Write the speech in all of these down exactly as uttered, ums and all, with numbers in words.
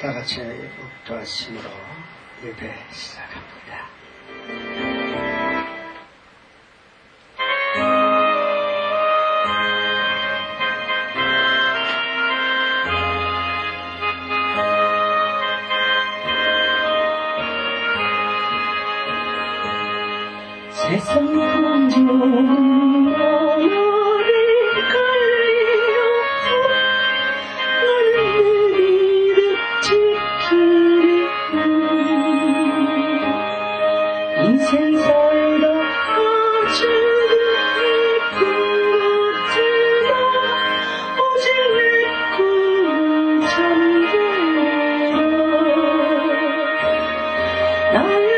다 같이 묵도하심으로 예배 시작합니다. 세상 먼저 나를 갈리려 나는 내리를 지키리라. 인생 살다 아주 예쁜 것들아 오직 내 꿈을 잠겨라. 나의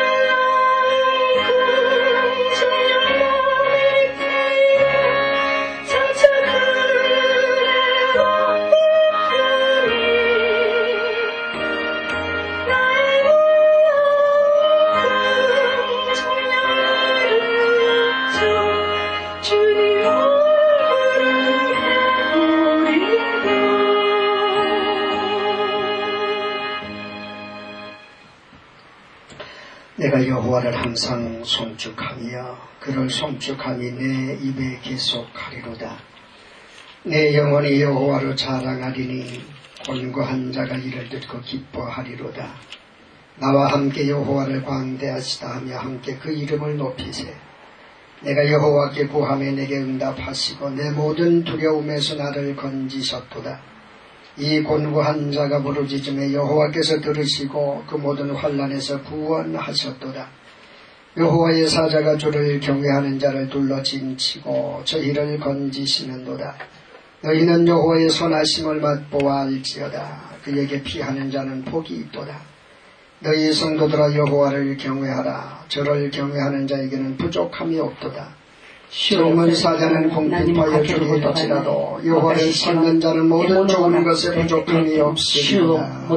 내가 여호와를 항상 송축하며 그를 송축함이 내 입에 계속하리로다. 내 영혼이 여호와를 자랑하리니 곤고한 자가 이를 듣고 기뻐하리로다. 나와 함께 여호와를 광대하시다 하며 함께 그 이름을 높이세. 내가 여호와께 구하며 내게 응답하시고 내 모든 두려움에서 나를 건지셨도다. 이 곤고한 자가 부르짖음에 여호와께서 들으시고 그 모든 환난에서 구원하셨도다. 여호와의 사자가 주를 경외하는 자를 둘러 진치고 저희를 건지시는도다. 너희는 여호와의 선하심을 맛보아 알지어다. 그에게 피하는 자는 복이 있도다. 너희 성도들아 여호와를 경외하라. 저를 경외하는 자에게는 부족함이 없도다. 젊은 사자는 공핍하여 죽을지라도 여호와를 찾는 자는 모든 좋은 것에 부족함이 없으리라.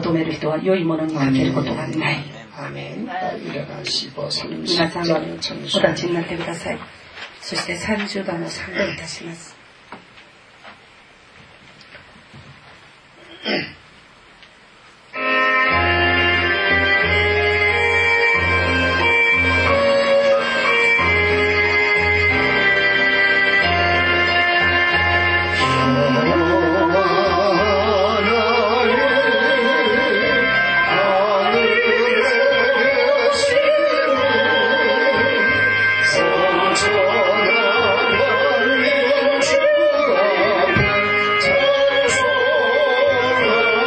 아멘. 아멘. 일어나시고 삼십 장 청소. そしてさんじゅうばんを参考いたします。 Oh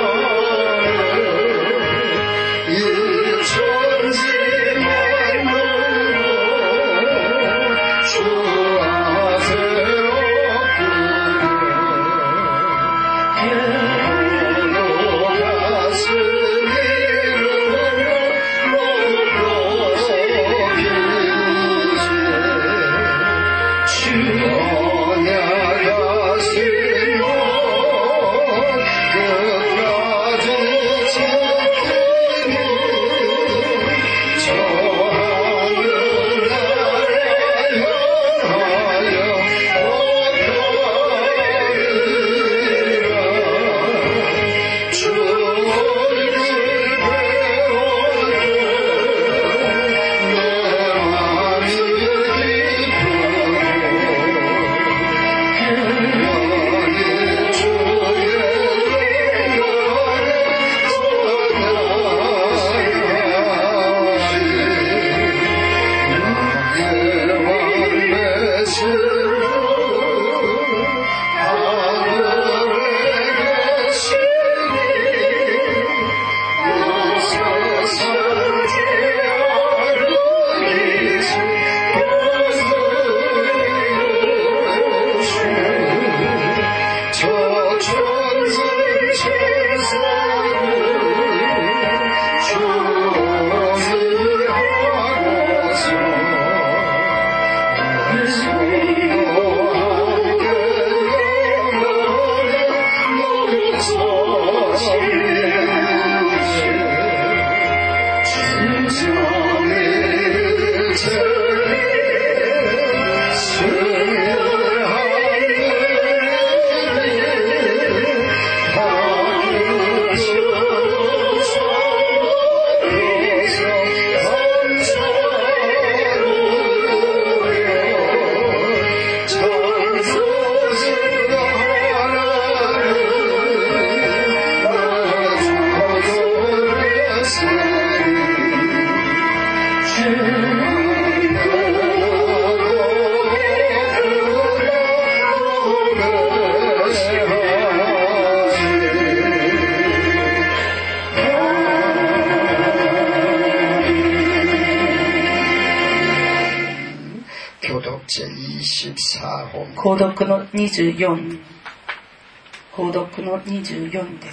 購読のにじゅうよん、購読のにじゅうよんです。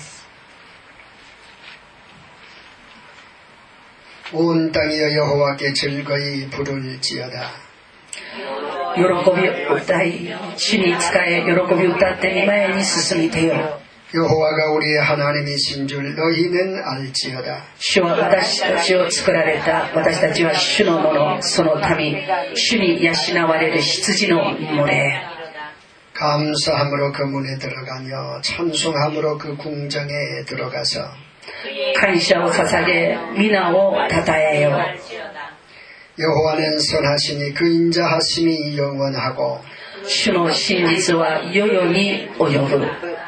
온 땅이여 여호와께 즐거이 부를지어다. 喜びを歌い、主に仕え、喜びを歌って御前に進みてよ。 여호와가 우리의 하나님이신 줄 너희는 알지어다. 主は私たちを作られた。私たちは主のもの、その民、主に養われる羊の群れ。 감사함으로 그 문에 들어가며 찬송함으로 그 궁정에 들어가서 感謝を捧げ、皆を称えよ。 여호와는 선하시니 그 인자하심이 영원하고 主の真実は世々に及ぶ。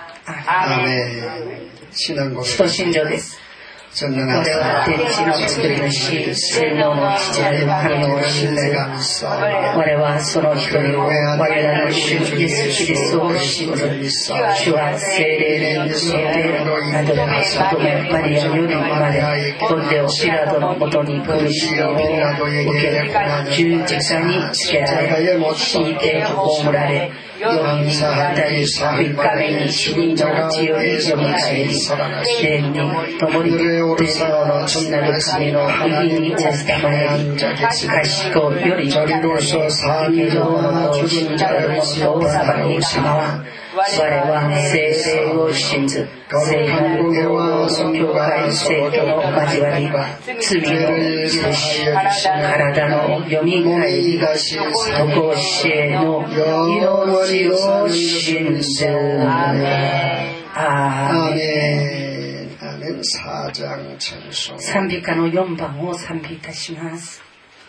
아멘. 신앙고백. 使徒信条です。 我々は天地の作り主、全能の父なる神を信ず。我はその一人を、我らの主イエス・キリストを信ず。主は聖霊によってなどで乙女マリアより生まれ、ポンデオピラトのもとに苦しみを受け、十字架につけられ、死にて葬られ、よんにんあたり三日目に死人のうちよりよみがえり、霊に共に天皇の父なる神の右におったまえに、賢より生ける者と死んだ者と裁き構わん。我は聖霊を信ず、聖なる教会聖徒の交わり、罪の許し、体のよみがえり、常しえの命を信ず。アーメン。 アーメン。アーメン。さん章찬송。 賛美歌のよんばんを賛美いたします。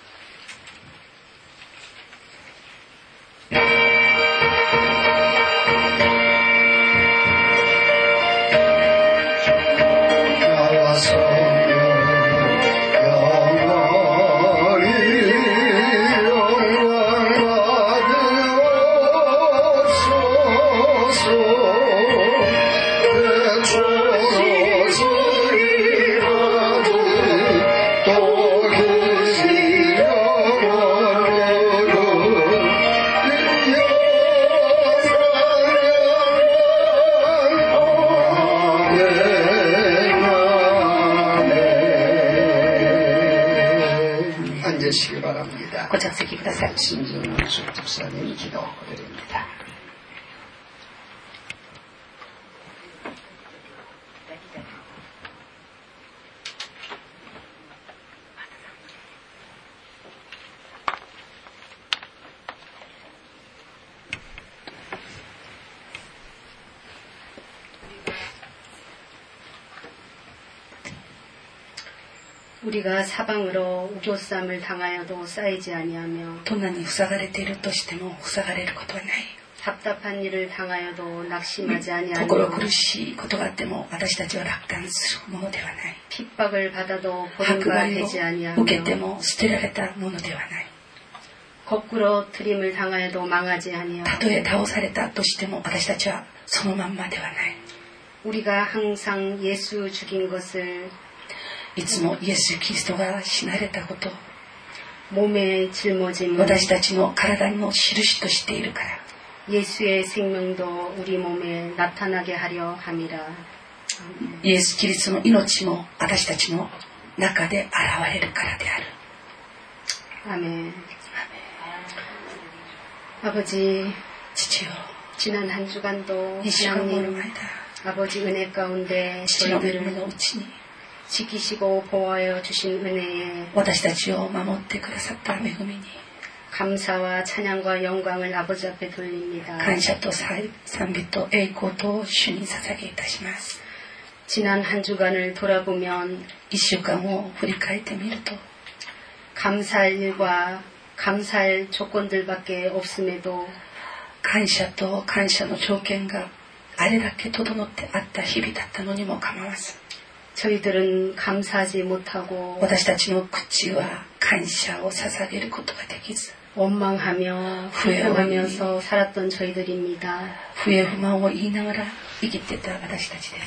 ご着席ください。 신정숙 집사님 기도 드립니다. 우리가 사방으로 우겨쌈을 당하여도 쌓이지 아니하며 どんなに塞がれているとしても塞がれることはない。 답답한 일을 당하여도 낙심하지 心 아니하며 苦しいことがあっても私たちは楽観するものではない。 핍박을 받아도 迫 버림바 害 되지 を 아니하며 受けても捨てられたものではない。 거꾸로 트림을 당하여도 망하지 아니하며 たとえ倒されたとしても私たちはそのまんまではない。 우리가 항상 예수 죽인 것을 いつもイエス・キリストが死なれたこと、 몸에 짊어짐 私たちの体の印としているから、 예수의 생명도 우리 몸에 나타나게 하려 함이라. イエス・キリストの命も私たちの中で現れるからである。 아멘. 아버지, 父よ、 지난 한 주간도 いっしゅうかんもの 하나님 間、 아버지 은혜 가운데 父の恵み 저희들을 のうちに 지키시고 보호하여 주신 은혜에 私たちを守ってくださった恵みに 감사와 찬양과 영광을 아버지 앞에 돌립니다. 感謝と賛美と栄光と主に捧げいたします。 지난 한 주간을 돌아보면 一週間を振り返ってみると、 감사할 일과 감사할 조건들밖에 없음에도 感謝と感謝の条件があれだけ整ってあった日々だったのにも構わず、 저희들은 감사하지 못하고 私たちの口は感謝を捧げることができず、 원망하며 불평하면서 살았던 저희들입니다. 不平不満を言いながら生きてた私たちです。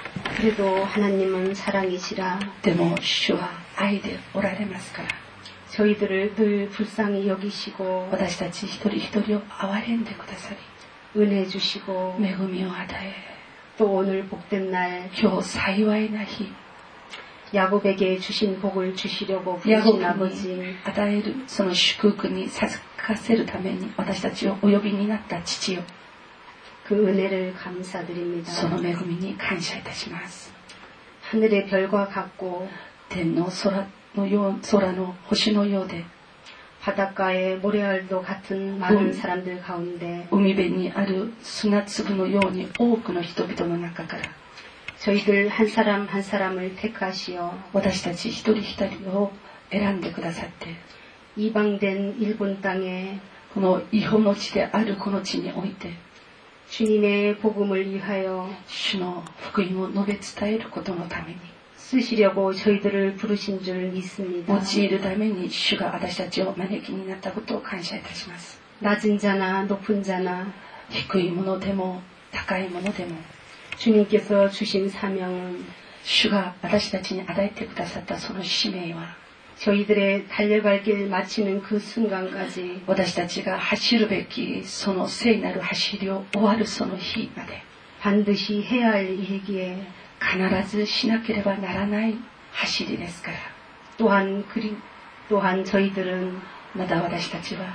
그래도 하나님은 사랑이시라 でも主は愛でおられますから、 저희들을 늘 불쌍히 여기시고 私たち一人一人を憐れんでくださり 은혜 주시고 恵みを与え 또 오늘 복된 날 今日幸いな日 야곱에게 주신 복을 주시려고 ヤコブ 부르신 に 아버지 与えるその祝福に授かせるために私たちをお呼びになった父よ 그 은혜를 감사드립니다. その恵みに感謝いたします 하늘의 별과 같고 天の空のよう空の星のようで 바닷가의 모래알도 같은 많은 음. 사람들 가운데 海辺にある砂粒のように多くの人々の中から 저희들 한 사람 한 사람을 택하시어 私たち一人一人を選んでくださって 이방된 일본 땅에 この異邦の地であるこの地において 주님의 복음을 위하여 主の福音を述べ伝えることのために 쓰시려고 저희들을 부르신 줄 믿습니다. 用いるために主が私たちを招きになったことを感謝いたします 낮은 자나 높은 자나 低いものでも高いものでも 주님께서 주신 사명은 主が私たちに与えてくださったその使命は 저희들의 달려갈 길 마치는 그 순간까지 私たちが走るべきその聖なる走りを終わるその日まで 반드시 해야 할 일이기에 必ずしなければならない走りですから 또한 그리 또한 저희들은 まだ私たちは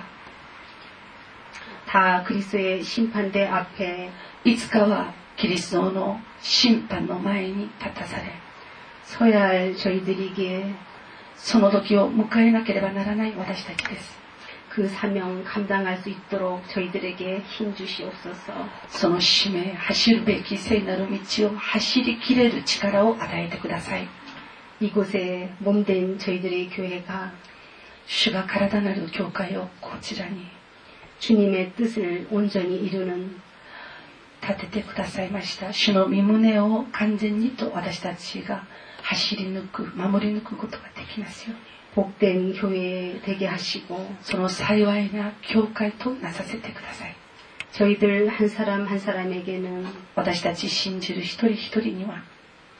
다 그리스도의 심판대 앞에 いつかはキリストの審判の前に立たされ 서야 할 저희들이기에 その時を迎えなければならない私たちです 그 사명 감당할 수 있도록 저희들에게 힘 주시옵소서. その使命走るべき聖なる道を走りきれる力を与えてください 이곳에 몸된 저희들의 교회가 主が体なる教会をこちらに 주님의 뜻을 온전히 이루는 立ててくださいました主の御胸を完全にと私たちが走り抜く守り抜くことができますように 복된 교회 되게 하시고 その幸いな教会となさせてください 저희들 한 사람 한 사람에게는 私たち信じる一人一人には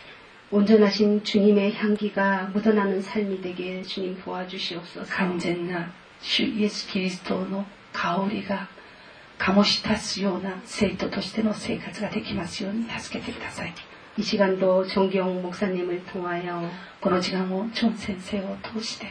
온전하신 주님의 향기가 묻어나는 삶이 되게 주님 도와주시옵소서. 完全な主イエス・キリストの香りが醸し出すような生徒としての生活ができますように助けてください 이 시간도 정경 목사님을 통하여 この時間をチョン先生を通して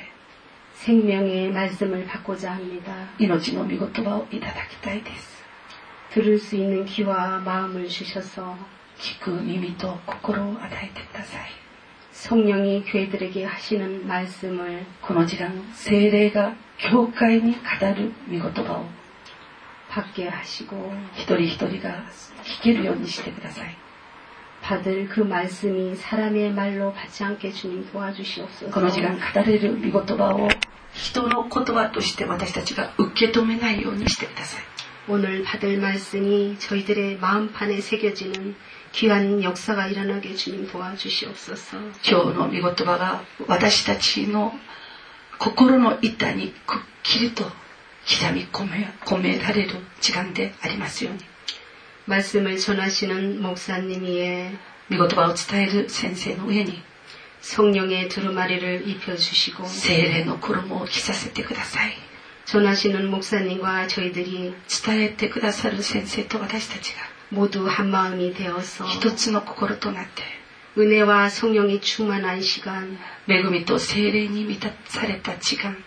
생명의 말씀을 받고자 합니다. 命の御言葉をいただきたいです 들을 수 있는 귀와 마음을 주셔서 聞く耳と心を与えてください 성령이 교회들에게 하시는 말씀을 この時間聖霊が教会に語る御言葉を 받게 하시고 一人一人が聞けるようにしてください 받을 그 말씀이 사람의 말로 받지 않게 주님 この 도와주시옵소서. 時間語れる御言葉を人の言葉として私たちが受け止めないようにしてください 오늘 받을 말씀이 저희들의 마음판에 새겨지는 귀한 역사가 일어나게 주님 도와주시옵소서. 今日の御言葉が私たちの心の板にくっきりと刻み込め、込められる時間でありますように 말씀을 전하시는 목사님 위에 御言葉を伝える先生の上に 성령의 두루마리를 입혀주시고 聖霊の衣を着させてください 전하시는 목사님과 저희들이 伝えてくださる先生と私たちが 모두 한 마음이 되어서 一つの心となって 은혜와 성령이 충만한 시간 恵みと聖霊に満たされた時間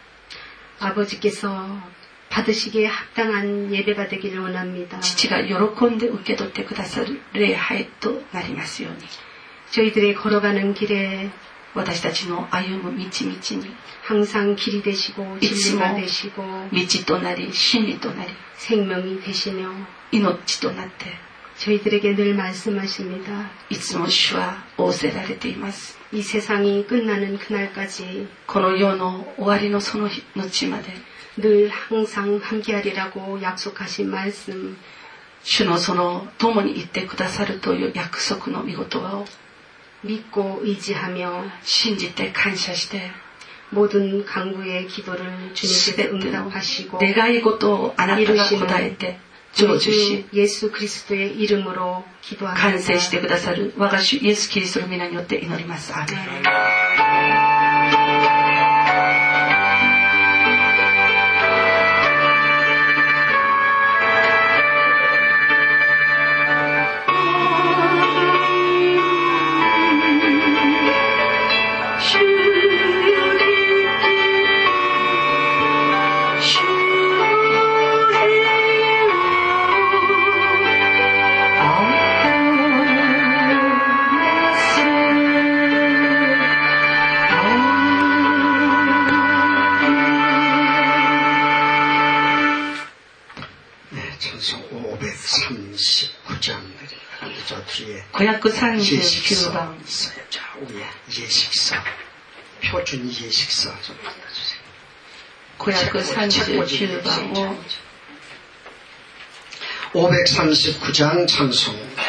아버지께서 받으시기에 합당한 예배가 되기를 원합니다. 父が喜んで受け取ってくださる礼拝となりますように 저희들이 걸어가는 길에 私たちの歩む道々に 항상 길이 되시고 진리가 되시고 道となり真理となり 생명이 되시며 命となって 저희들에게 늘 말씀하십니다. いつも主は仰せられています 이 세상이 끝나는 그날까지 この世の終わりのその日の地まで 늘 항상 함께하리라고 약속하신 말씀 主のその共に行ってくださるという約束の御言葉を 믿고 의지하며 信じて感謝して 모든 간구의 기도를 주님께서 응답하시고 願い事をあなたが答えて成就し 예수 그리스도의 이름으로 기도합니다. 完成してくださる我が主イエスキリストの皆によって祈ります。アーメン。 오백삼십구 장 저 뒤에 오백삼십구 번 있어요. 자, 위에 예식서, 표준 예식서 좀 받아주세요. 오백삼십구 번 오백삼십구 장 찬송입니다.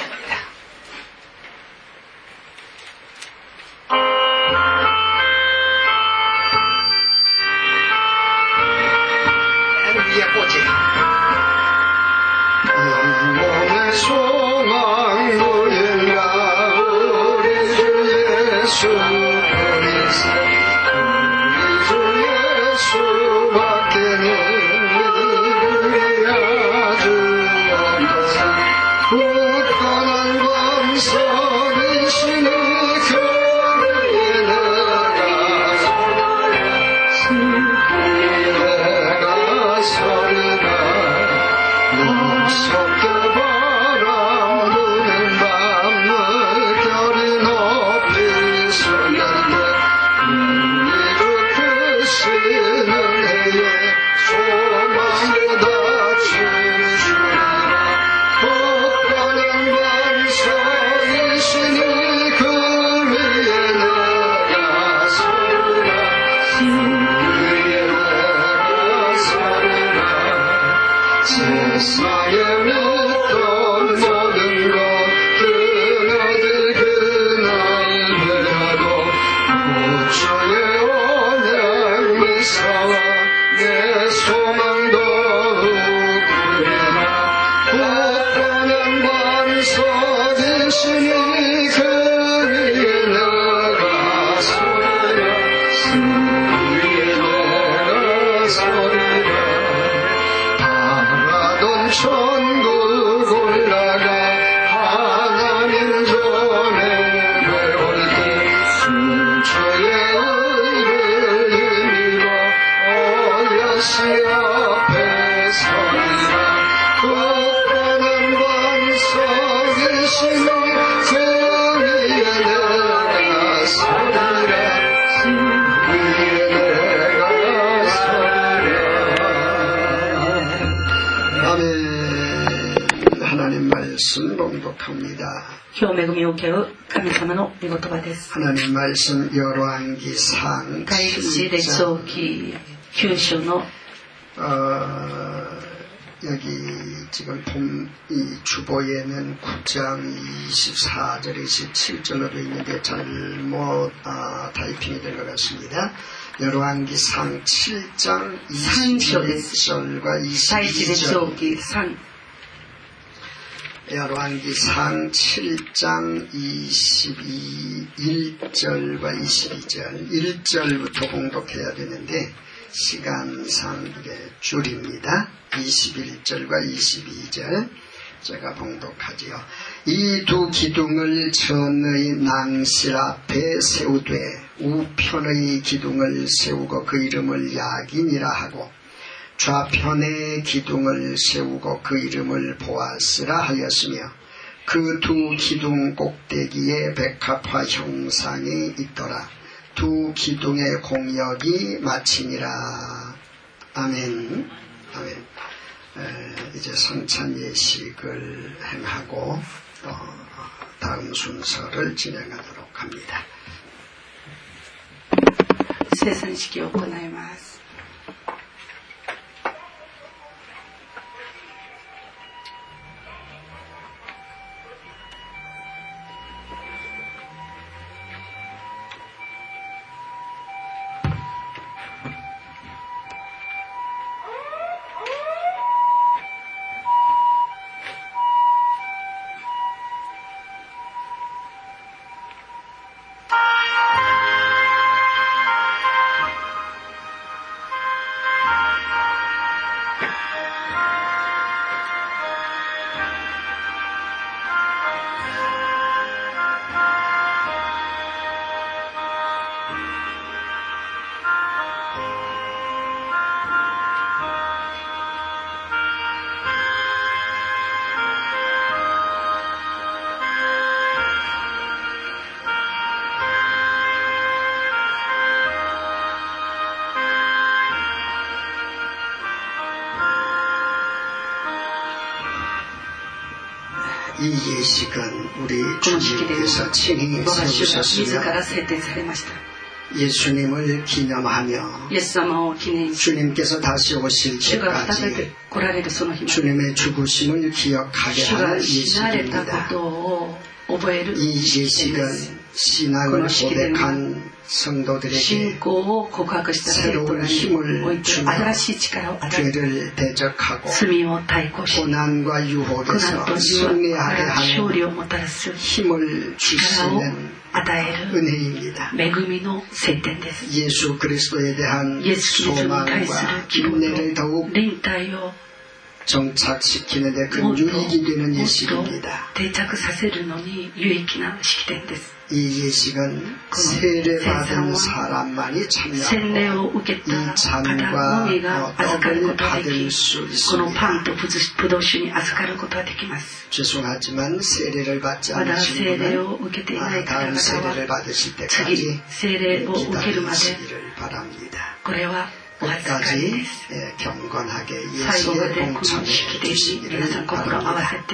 하나님 말씀 열왕기상 칠 장 きゅう章の 어, 여기 지금 봄, 이 주보에는 구 장 이십사 절 이십칠 절로 되어 있는데 잘못 아, 타이핑이 된 것 같습니다. 열왕기상 칠 장 이십일 절과 이십이 절 열왕기상 칠 장 이십일 절과 이십이 절 일 절부터 봉독해야 되는데 시간상 이게 줄입니다. 이십일 절과 이십이 절 제가 봉독하지요. 이 두 기둥을 전의 낭실 앞에 세우되 우편의 기둥을 세우고 그 이름을 야긴이라 하고 좌편의 기둥을 세우고 그 이름을 보아스라 하였으며 그 두 기둥 꼭대기에 백합화 형상이 있더라. 두 기둥의 공역이 마치니라. 아멘. 아멘. 에, 이제 성찬 예식을 행하고 어, 다음 순서를 진행하도록 합니다. 生産式を行います。 이 예식은 우리 주님께서 친히 세우셨으며 예수님을 기념하며 주님께서 다시 오실 때까지 주님의 죽으심을 기억하게 하는 예식입니다. 이 예식은 신앙을 고백한 성도들에게 새로운 힘을 주며 죄를 대적하고 고난과 유혹에서 승리하게 하는 힘을 주시는 은혜입니다. 예수 그리스도에 대한 소망과 인내를 더욱 정착시키는 데 큰 유익이 되는 예식입니다. 이 예식은 세례받은 사람만이 참여하고 이 잔과 떡을 받을 수 있습니다. 죄송하지만 세례를 받지 않으신 분은 다음 세례를 받으실 때까지 기다리시기를 바랍니다. 끝까지 경건하게 예수의 공천에 주시기를 바랍니다.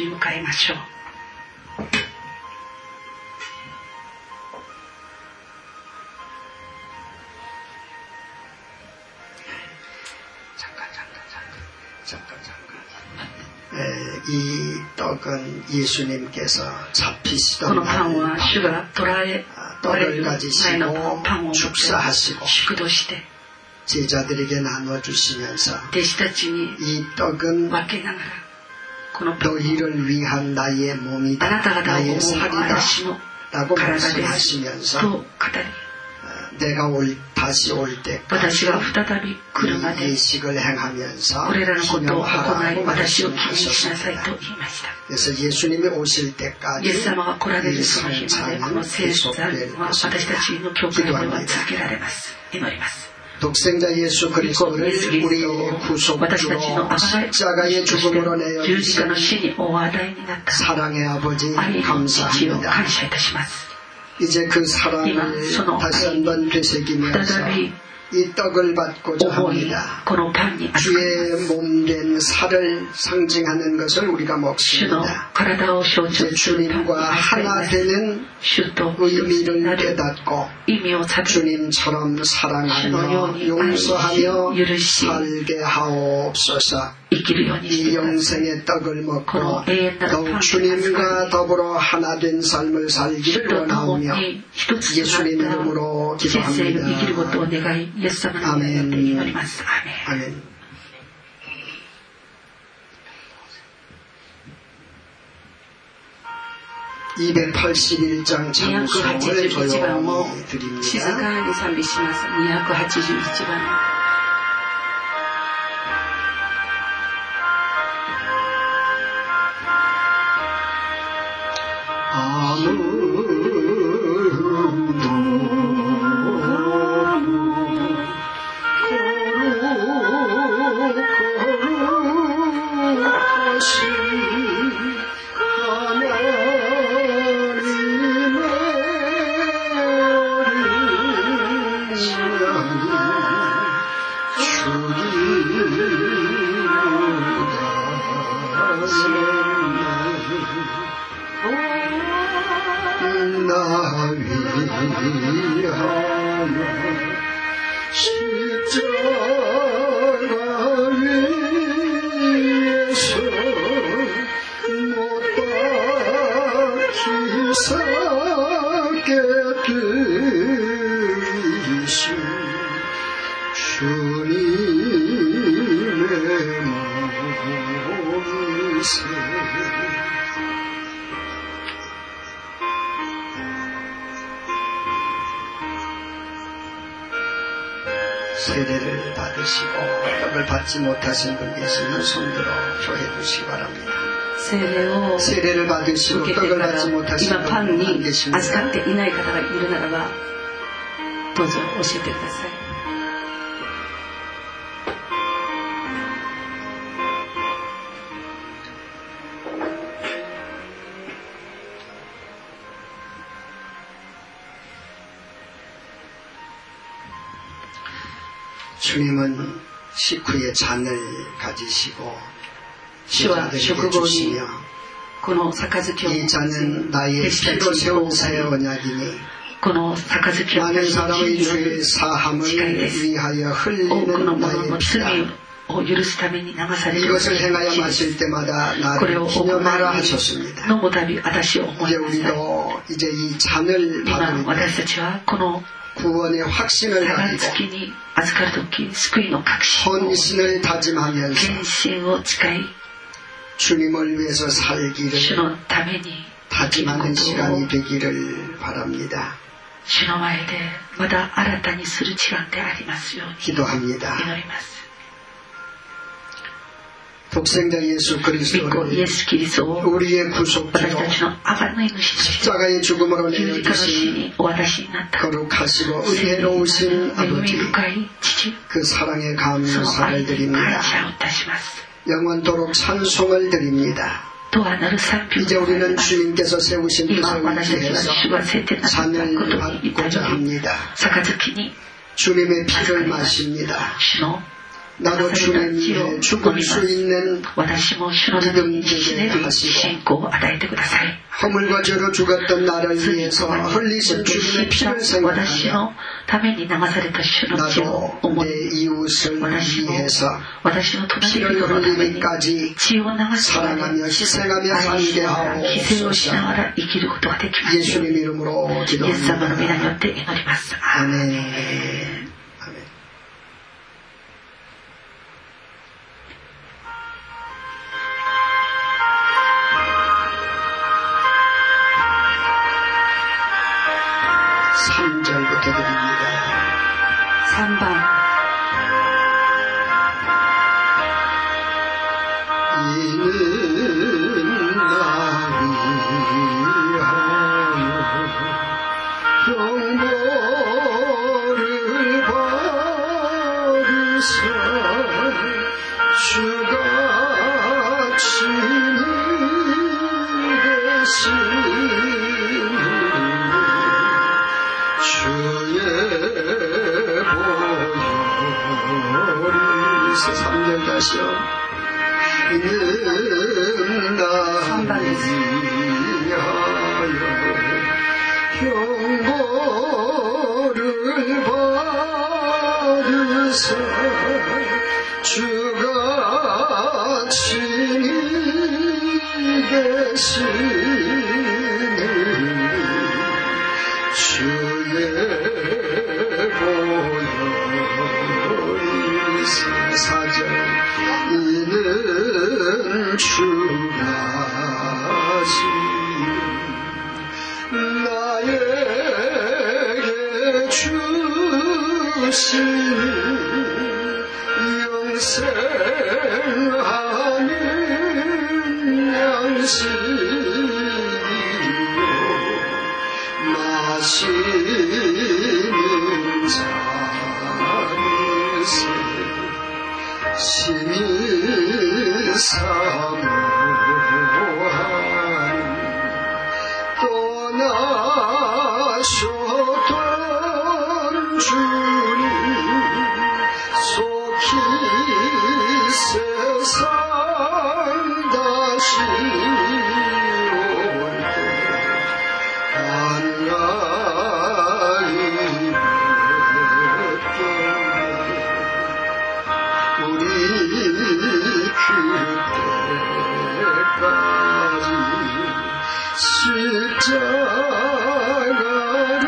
잠깐 잠깐 잠깐 잠깐 잠깐 이 떡은 예수님께서 잡히시던 날 떡을 가지시고 축사하시고 제자들에게 나눠주시면서 이 떡은 너희를 위한 나의 몸이다, 나의 살이다 라고 말씀하시면서 내가 올, 다시 올 때까지 이 예식을 행하면서 기념하라고 말씀하셨습니다. 그래서 예수님이 오실 때까지 이 성찬은 계속될 것입니다. 기도합니다. 독생자 예수 그리스도를 우리의 구속주로 십자가의 죽음으로 내어주신 사랑의 아버지 감사합니다. 이제 그 사랑을 다시 한번 되새기면서 이 떡을 받고자 합니다. 주의 몸된 살을 상징하는 것을 우리가 먹습니다. 이제 주님과 하나 되는 의미를 깨닫고 주님처럼 사랑하며 용서하며 살게 하옵소서. 이 영생의 떡을 먹고 더욱 주님과 더불어 하나 된 삶을 살기를 원하오며 예수님 이름으로 기도합니다. 아멘. 아멘. 이백팔십일 장 찬송을 조용히 드립니다. 세례를 받으시고 떡을 받지 못하신 분 계시면 손들어 표해 주시기 바랍니다. 세례를 받으시고 떡을 받지 못하신 분 안 계십니다. 주님은 식후에 잔을 가지시고 제자들에게 주시며 이 잔은 나의 피로 세운 새 언약이니 많은 사람의 죄 사함을 위하여 흘리는 나의 피다. 이것을 행하여 마실 때마다 나를 기념하라 하셨습니다. 이제 우리도 이제 이 잔을 받으며 구원의 확신을 가지고 헌신을 다짐하면서 주님을 위해서 살기를 다짐하는 시간이 되기를 바랍니다. 기도합니다. 독생자 예수 그리스도를 우리의 구속주로 십자가의 죽음으로 내어주신 거룩하시고 은혜로우신 아버지, 그 사랑에 감사를 드립니다. 영원토록 찬송을 드립니다. 이제 우리는 주님께서 세우신 뜻을 위해서 잔을 받고자 합니다. 주님의 피를 마십니다. 나도 주님 위에 죽을 수 있는 믿음 되게 하시고 허물과 죄로 죽었던 나를 위해서 흘리신 주님의 피를 생각하며 나도 내 이웃을 위해서 피를 흘리기까지 사랑하며 희생하며 살게 하옵소서. 예수님 이름으로 기도합니다. 아멘. 삼 절부터 드립니다. 삼 번 이는 나 위하여 영광을 받으사 주가 친히 되시니 주의 보혈이 삼 절 다시요. 이는 나 위하여 영광을 받으사 주가 친히 계시는 주의 보혈이 사 절 이는 주가 나에게 주신 영생하는 양식이요 마시는 잔에서 심히 사모하니 떠나셨던 주님 속히 세상 다시 올때 간간히 우리 그때까지 십자가를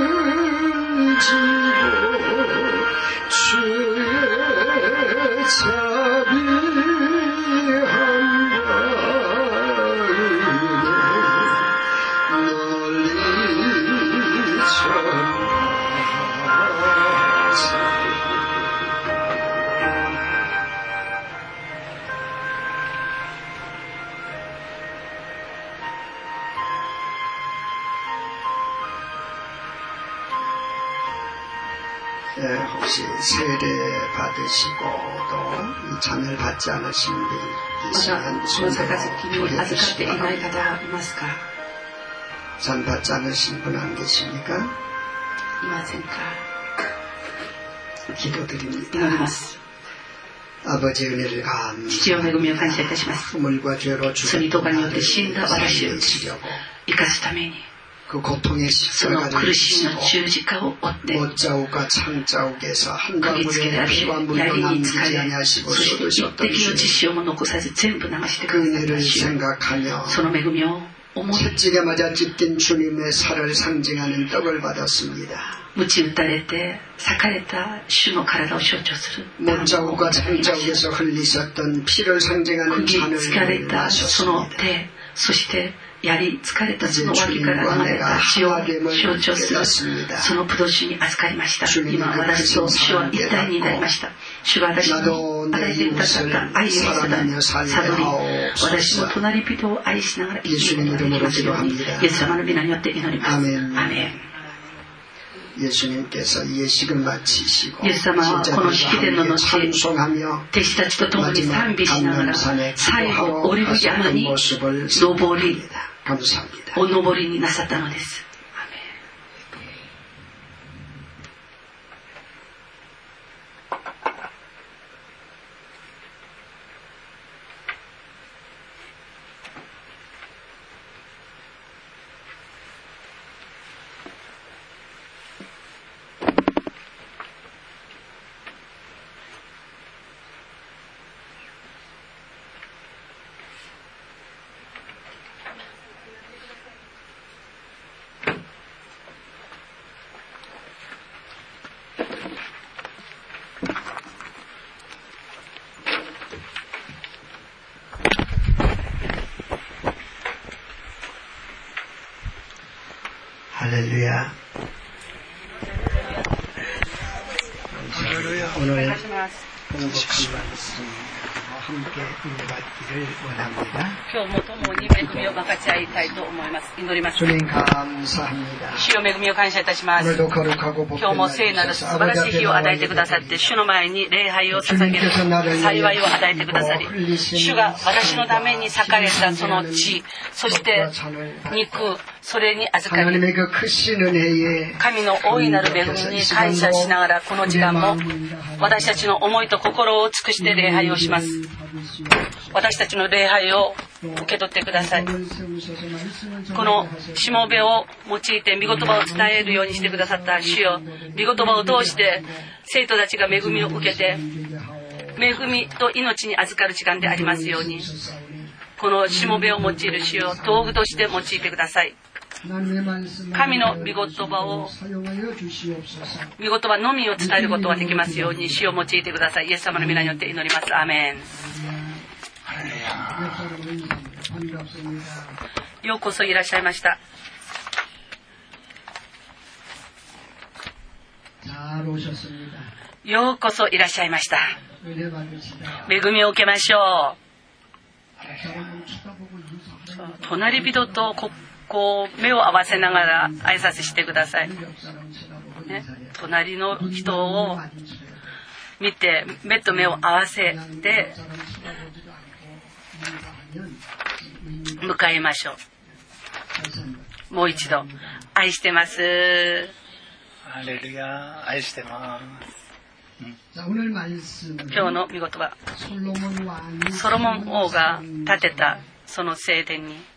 지고 주의 자비한 바위에 널리 전하세 예, 혹시 세례 받으시고 또 이 잔을 받지 않으신 분이 계시면 손들어 보여주시기 바랍니다. 잔 받지 않으신 분 안 계십니까? 기도드립니다. 父の恵みを感謝いたします。罪とかによって死んだ私を生かすために、その苦しみの十字架を追って釘付けであり、槍につかれ、そして一滴の血潮も残さず全部流してくださった主よ、その恵みを思い、鞭打たれて裂かれた主の体を象徴する釘付かれたその手、そして槍疲れたその脇から流れた血を象徴するそのブドウ酒に預かりました。今私と主は一体になりました。主が私に与えてくださった愛を悟り、私の隣人を愛しながら生きることができますように、イエス様の皆によって祈ります。アメン。イエス様はこの式典の後、弟子たちと共に賛美しながら最後オリブ山に登りお登りになさったのです。할렐루야. 오늘 행복한 말씀 함께 인도받기를 원합니다. 주님 감사합니다. 오늘도 거룩하고 복된 날이셔서 아버지 앞에 나와있습니다. 주님께서 나를 위해 흘리신 하나님의 그 크신 은혜에 神の大いなる恵みに感謝しながら、この時間も私たちの思いと心を尽くして礼拝をします。私たちの礼拝を受け取ってください。このしもべを用いて御言葉を伝えるようにしてくださった主よ、御言葉を通して生徒たちが恵みを受けて、恵みと命に預かる時間でありますように、このしもべを用いる主よ、道具として用いてください。神の御言葉を、御言葉のみを伝えることができますように、主を用いてください。イエス様の皆によって祈ります。アーメン。ようこそいらっしゃいました。ようこそいらっしゃいました。恵みを受けましょう。隣人とこう目を合わせながら挨拶してください、ね、隣の人を見て目と目を合わせて迎えましょう。もう一度、愛してます。 ハレルヤ、愛してます。 今日の御言葉、ソロモン王が建てたその聖殿に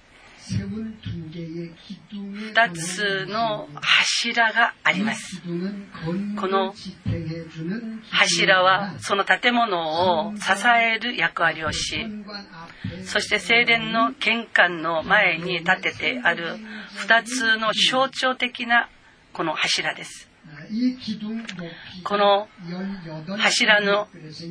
ふたつの柱があります。この柱はその建物を支える役割をし、そして聖殿の玄関の前に建ててあるふたつの象徴的なこの柱です。この柱の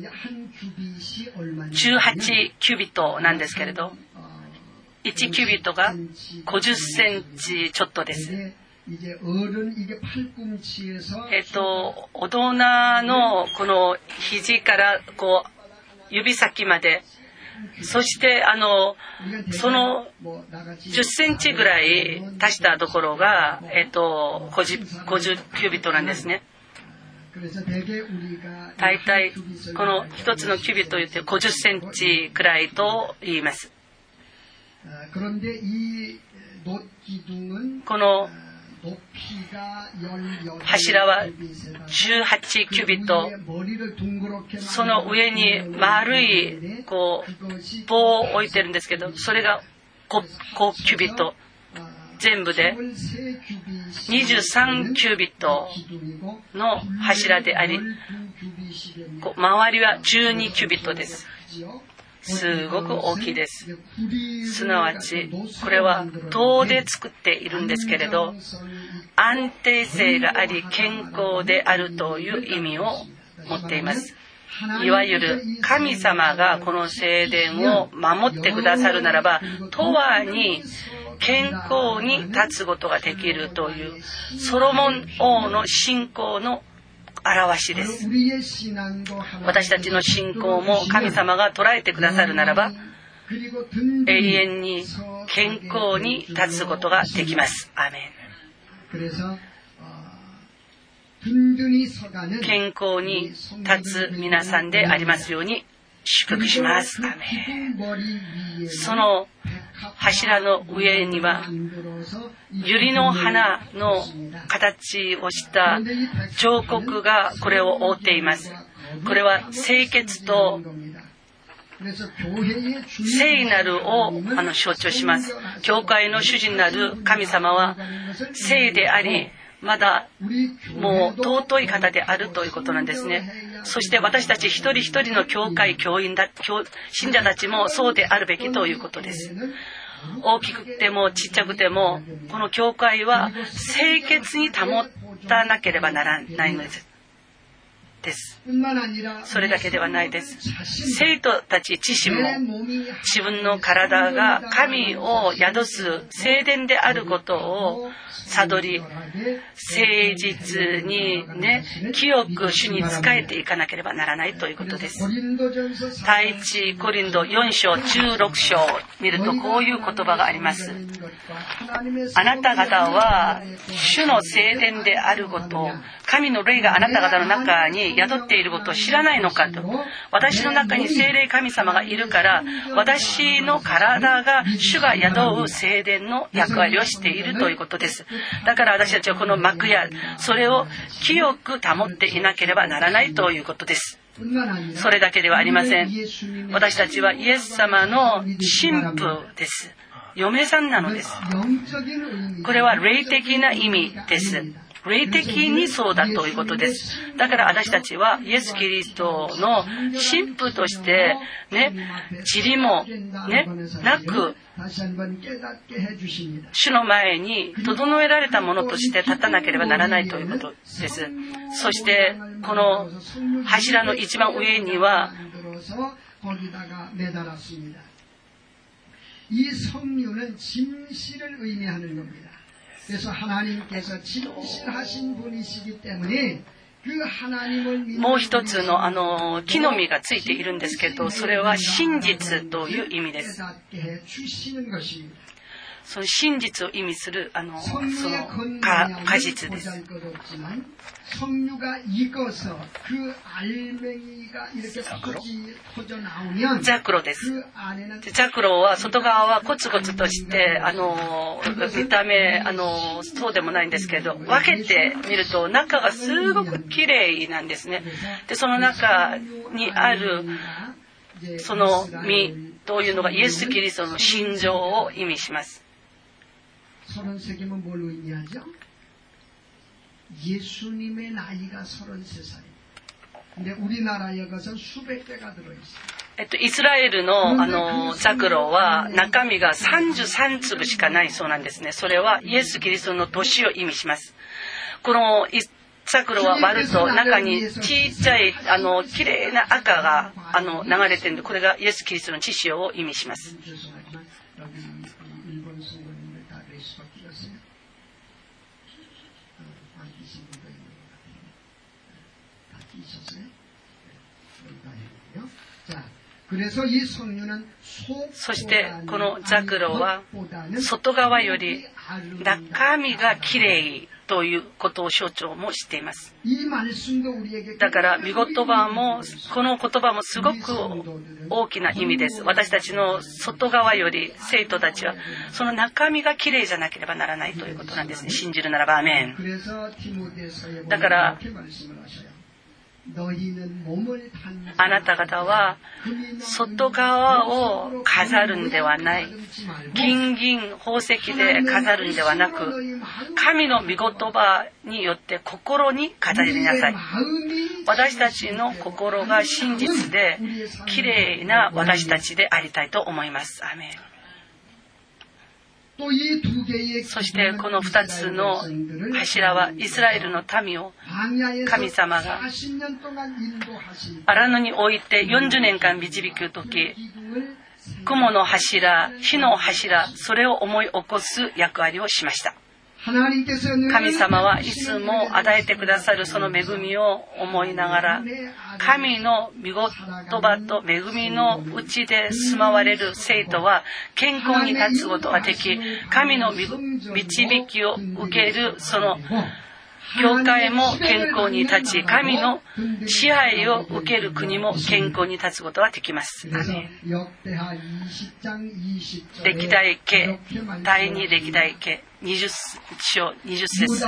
じゅうはちキュビットなんですけれど、いちキュビットがごじゅっセンチちょっとです。えっと、大人のこの肘からこう指先まで、そしてあのそのじゅっセンチぐらい足したところが、えっと、ごじゅうキュビットなんですね。大体この一つのキュビットを言ってごじゅっセンチくらいと言います。この柱はじゅうはちキュビット、その上に丸いこう棒を置いてるんですけど、それが ご, ごキュビット、全部でにじゅうさんキュビットの柱であり、周りはじゅうにキュビットです。すごく大きいです。すなわちこれは銅で作っているんですけれど、安定性があり健康であるという意味を持っています。いわゆる神様がこの聖殿を守ってくださるならば、永遠に健康に立つことができるというソロモン王の信仰の表しです。私たちの信仰も神様が捉えてくださるならば、永遠に健康に立つことができます。アーメン。健康に立つ皆さんでありますように祝福します。アーメン。その柱の上には百合の花の形をした彫刻がこれを覆っています。これは清潔と聖なるをあの象徴します。教会の主人なる神様は聖であり、まだもう尊い方であるということなんですね。そして私たち一人一人の教会教員だ信者たちもそうであるべきということです。大きくてもちっちゃくてもこの教会は清潔に保たなければならないのですです。それだけではないです。生徒たち自身も自分の体が神を宿す聖殿であることを悟り、誠実にね、清く主に仕えていかなければならないということです。第一コリントよん章じゅうろく章を見るとこういう言葉があります。あなた方は主の聖殿であることを、神の霊があなた方の中に宿っていることを知らないのかと。私の中に聖霊神様がいるから、私の体が主が宿う聖殿の役割をしているということです。だから私たちはこの幕やそれを清く保っていなければならないということです。それだけではありません。私たちはイエス様の神父です。嫁さんなのです。これは霊的な意味です。霊的にそうだということです。だから私たちはイエス・キリストの神父としてね、塵もねなく主の前に整えられたものとして立たなければならないということです。そしてこの柱の一番上にはもう一つのあの木の実がついているんですけど、それは真実という意味です。その真実を意味するあのその果実です。ザクロです。ザクロは外側はコツコツとしてあの見た目あのそうでもないんですけど、分けてみると中がすごく綺麗なんですね。でその中にあるその実というのがイエス・キリストの心情を意味します。 서른세개면 뭘 의미하죠? 예수님의 나이가 서른세 살입니다. 근데 우리나라에 것은 수백 개가 들어있어요. えっと、イスラエルのあのザクロは中身がさんじゅうさん粒しかないそうなんですね。それはイエス・キリストの年を意味します。このザクロは割ると中に小さいあの綺麗な赤があの流れているので、これがイエス・キリストの血潮を意味します。 そしてこのザクロは外側より中身がきれいということを象徴もしています。だから御言葉もこの言葉もすごく大きな意味です。私たちの外側より生徒たちはその中身がきれいじゃなければならないということなんですね。信じるならばアメン。だからあなた方は外側を飾るんではない、金銀宝石で飾るんではなく、神の御言葉によって心に飾りなさい。私たちの心が真実できれいな私たちでありたいと思います。アメン。そしてこの二つの柱はイスラエルの民を神様が荒野に置いてよんじゅうねんかん導くとき、雲の柱、火の柱、それを思い起こす役割をしました。神様はいつも与えてくださるその恵みを思いながら、神の御言葉と恵みのうちで住まわれる生徒は健康に立つことができ、神の導きを受けるその教会も健康に立ち、神の支配を受ける国も健康に立つことができます。歴代記だいに歴代記にじゅっ章にじゅっ節。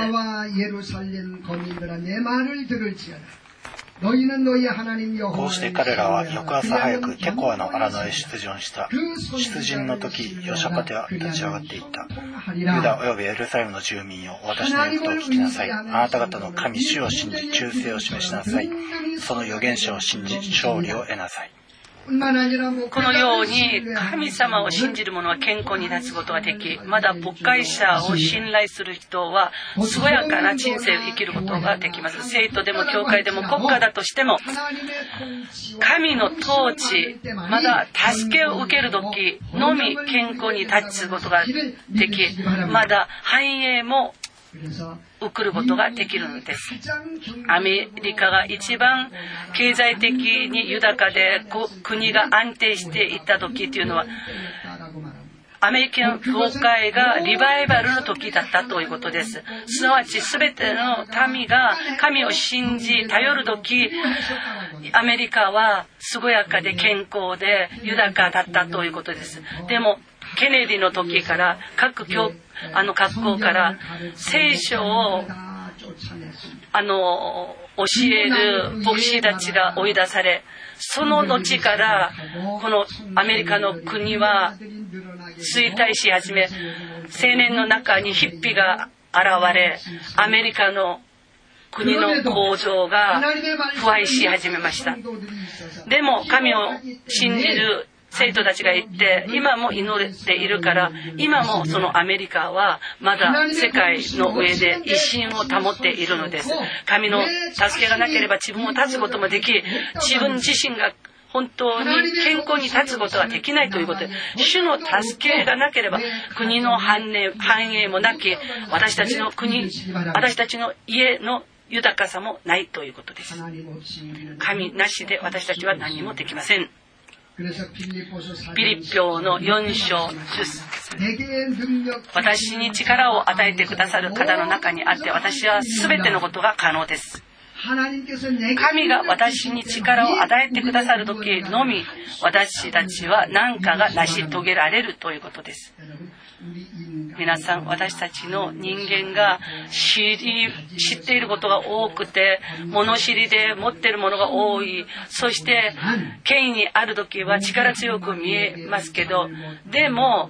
こうして彼らは翌朝早くテコアの荒野へ出陣した。出陣の時、ヨシャパテは立ち上がっていった。ユダおよびエルサレムの住民よ、私の言うことを聞きなさい。あなた方の神主を信じ、忠誠を示しなさい。その預言者を信じ、勝利を得なさい。 このように神様を信じる者は健康に立つことができ、まだ牧会者を信頼する人は健やかな人生を生きることができます。生徒でも教会でも国家だとしても、神の統治、まだ助けを受ける時のみ健康に立つことができ、まだ繁栄も送ることができるのです。アメリカが一番経済的に豊かで国が安定していった時というのは、アメリカの教会がリバイバルの時だったということです。すなわち全ての民が神を信じ頼る時、アメリカは健やかで健康で豊かだったということです。でもケネディの時から各教あの学校から聖書をあの教える牧師たちが追い出され、その後からこのアメリカの国は衰退し始め、青年の中にヒッピーが現れ、アメリカの国の構造が腐敗し始めました。でも神を信じる生徒たちがいて、今も祈っているから、今もそのアメリカはまだ世界の上で威信を保っているのです。神の助けがなければ自分を立つこともでき、自分自身が本当に健康に立つことはできないということで、主の助けがなければ国の繁栄、繁栄もなき、私たちの国、私たちの家の豊かさもないということです。神なしで私たちは何もできません。ピリピ書のよん章じゅっ節、私に力を与えてくださる方の中にあって、私は全てのことが可能です。神が私に力を与えてくださる時のみ、私たちは何かが成し遂げられるということです。皆さん、私たちの人間が知り知っていることが多くて、物知りで持っているものが多い、そして権威にある時は力強く見えますけど、でも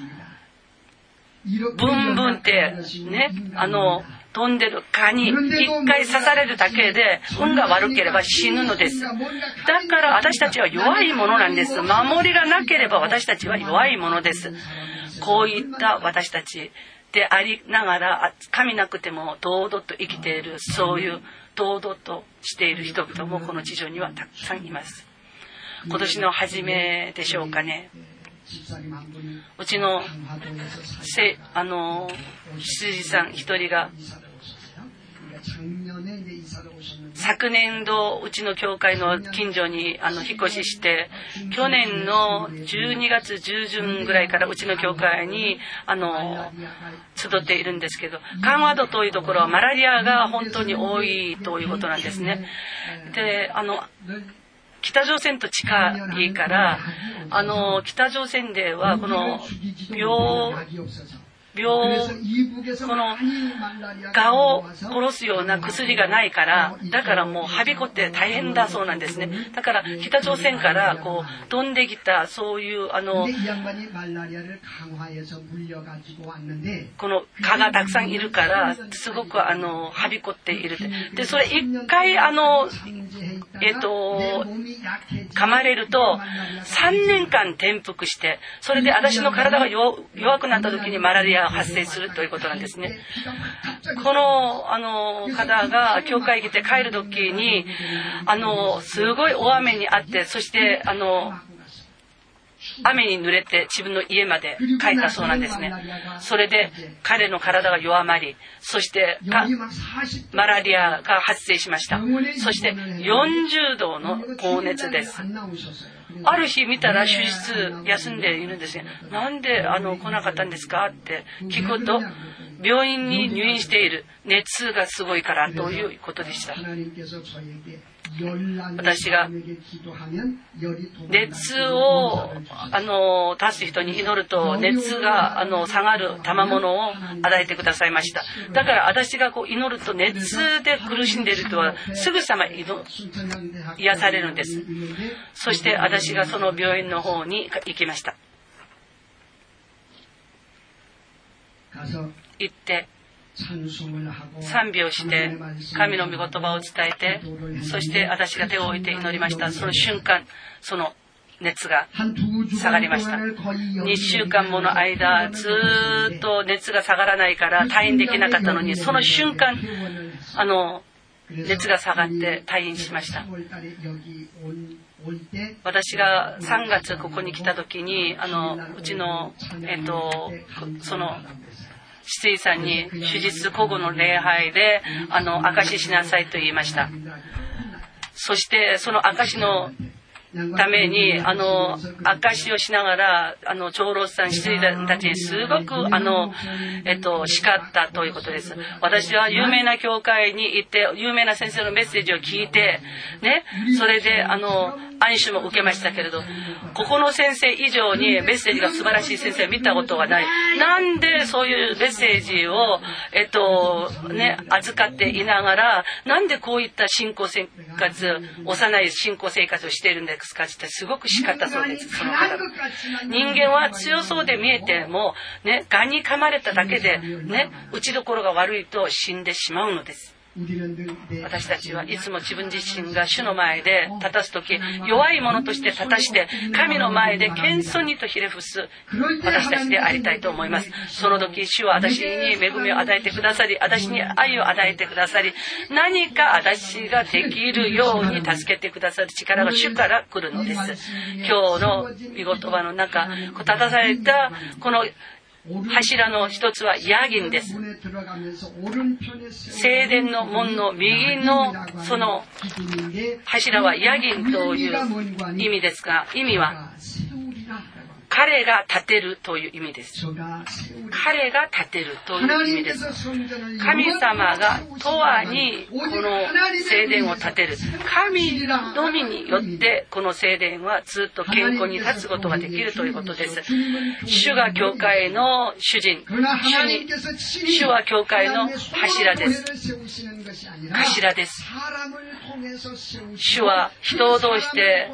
ブンブンってね、あの飛んでる蚊に一回刺されるだけで運が悪ければ死ぬのです。だから私たちは弱いものなんです。守りがなければ私たちは弱いものです。こういった私たちでありながら、神なくても堂々と生きている、そういう堂々としている人々もこの地上にはたくさんいます。今年の初めでしょうかね、うちのせあの羊さん一人が昨年度うちの教会の近所にあの引っ越しして、去年のじゅうにがつ中旬ぐらいからうちの教会にあの集っているんですけど、カンワドというところはマラリアが本当に多いということなんですね。で、あの北朝鮮と近いから、あの北朝鮮ではこの病病この蛾を殺すような薬がないから、だからもうはびこって大変だそうなんですね。だから北朝鮮からこう飛んできたそういうあのこの蚊がたくさんいるからすごくあのはびこっている。でそれ一回あのえっと噛まれるとさんねんかん転覆して、それで私の体が弱くなった時にマラリア発生するということなんですね。このあの方が教会に来て帰る時にあのすごい大雨にあって、そしてあの雨に濡れて自分の家まで帰ったそうなんですね。それで彼の体が弱まり、そしてマラリアが発生しました。そしてよんじゅうどの高熱です。ある日見たら手術休んでいるんですね。なんであの来なかったんですかって聞くと、病院に入院している、熱がすごいからということでした。私が熱をあの出す人に祈ると熱があの下がる賜物を与えてくださいました。だから私がこう祈ると熱で苦しんでいる人はすぐさま癒されるんです。そして私がその病院の方に行きました。行って賛美をして神の御言葉を伝えて、そして私が手を置いて祈りました。その瞬間その熱が下がりました。にしゅうかんもの間ずっと熱が下がらないから退院できなかったのに、その瞬間あの熱が下がって退院しました。私がさんがつここに来た時にあのうちのえっとその執事さんに手術後後の礼拝であの証ししなさいと言いました。そしてその証のためにあの証をしながらあの長老さん執事たちにすごくあの、えっと、叱ったということです。私は有名な教会に行って有名な先生のメッセージを聞いて、ね、それであの暗視も受けましたけれど、ここの先生以上にメッセージが素晴らしい先生を見たことがない。なんでそういうメッセージを、えっとね、預かっていながら、なんでこういった信仰生活、幼い信仰生活をしているんですかってすごく叱ったそうです。その方、人間は強そうで見えても、ね、ガに噛まれただけで、ね、打ちどころが悪いと死んでしまうのです。私たちはいつも自分自身が主の前で立たすとき、弱い者として立たして神の前で謙遜にとひれ伏す私たちでありたいと思います。その時主は私に恵みを与えてくださり、私に愛を与えてくださり、何か私ができるように助けてくださる力が主から来るのです。今日の御言葉の中、立たされたこの柱の一つはヤギンです。聖殿の門の右のその柱はヤギンという意味ですが、意味は彼が立てるという意味です。彼が立てるという意味です。神様が永遠にこの聖殿を建てる。神のみによってこの聖殿はずっと健康に立つことができるということです。主が教会の主人、主に主は教会の柱です。頭です。主は人を通して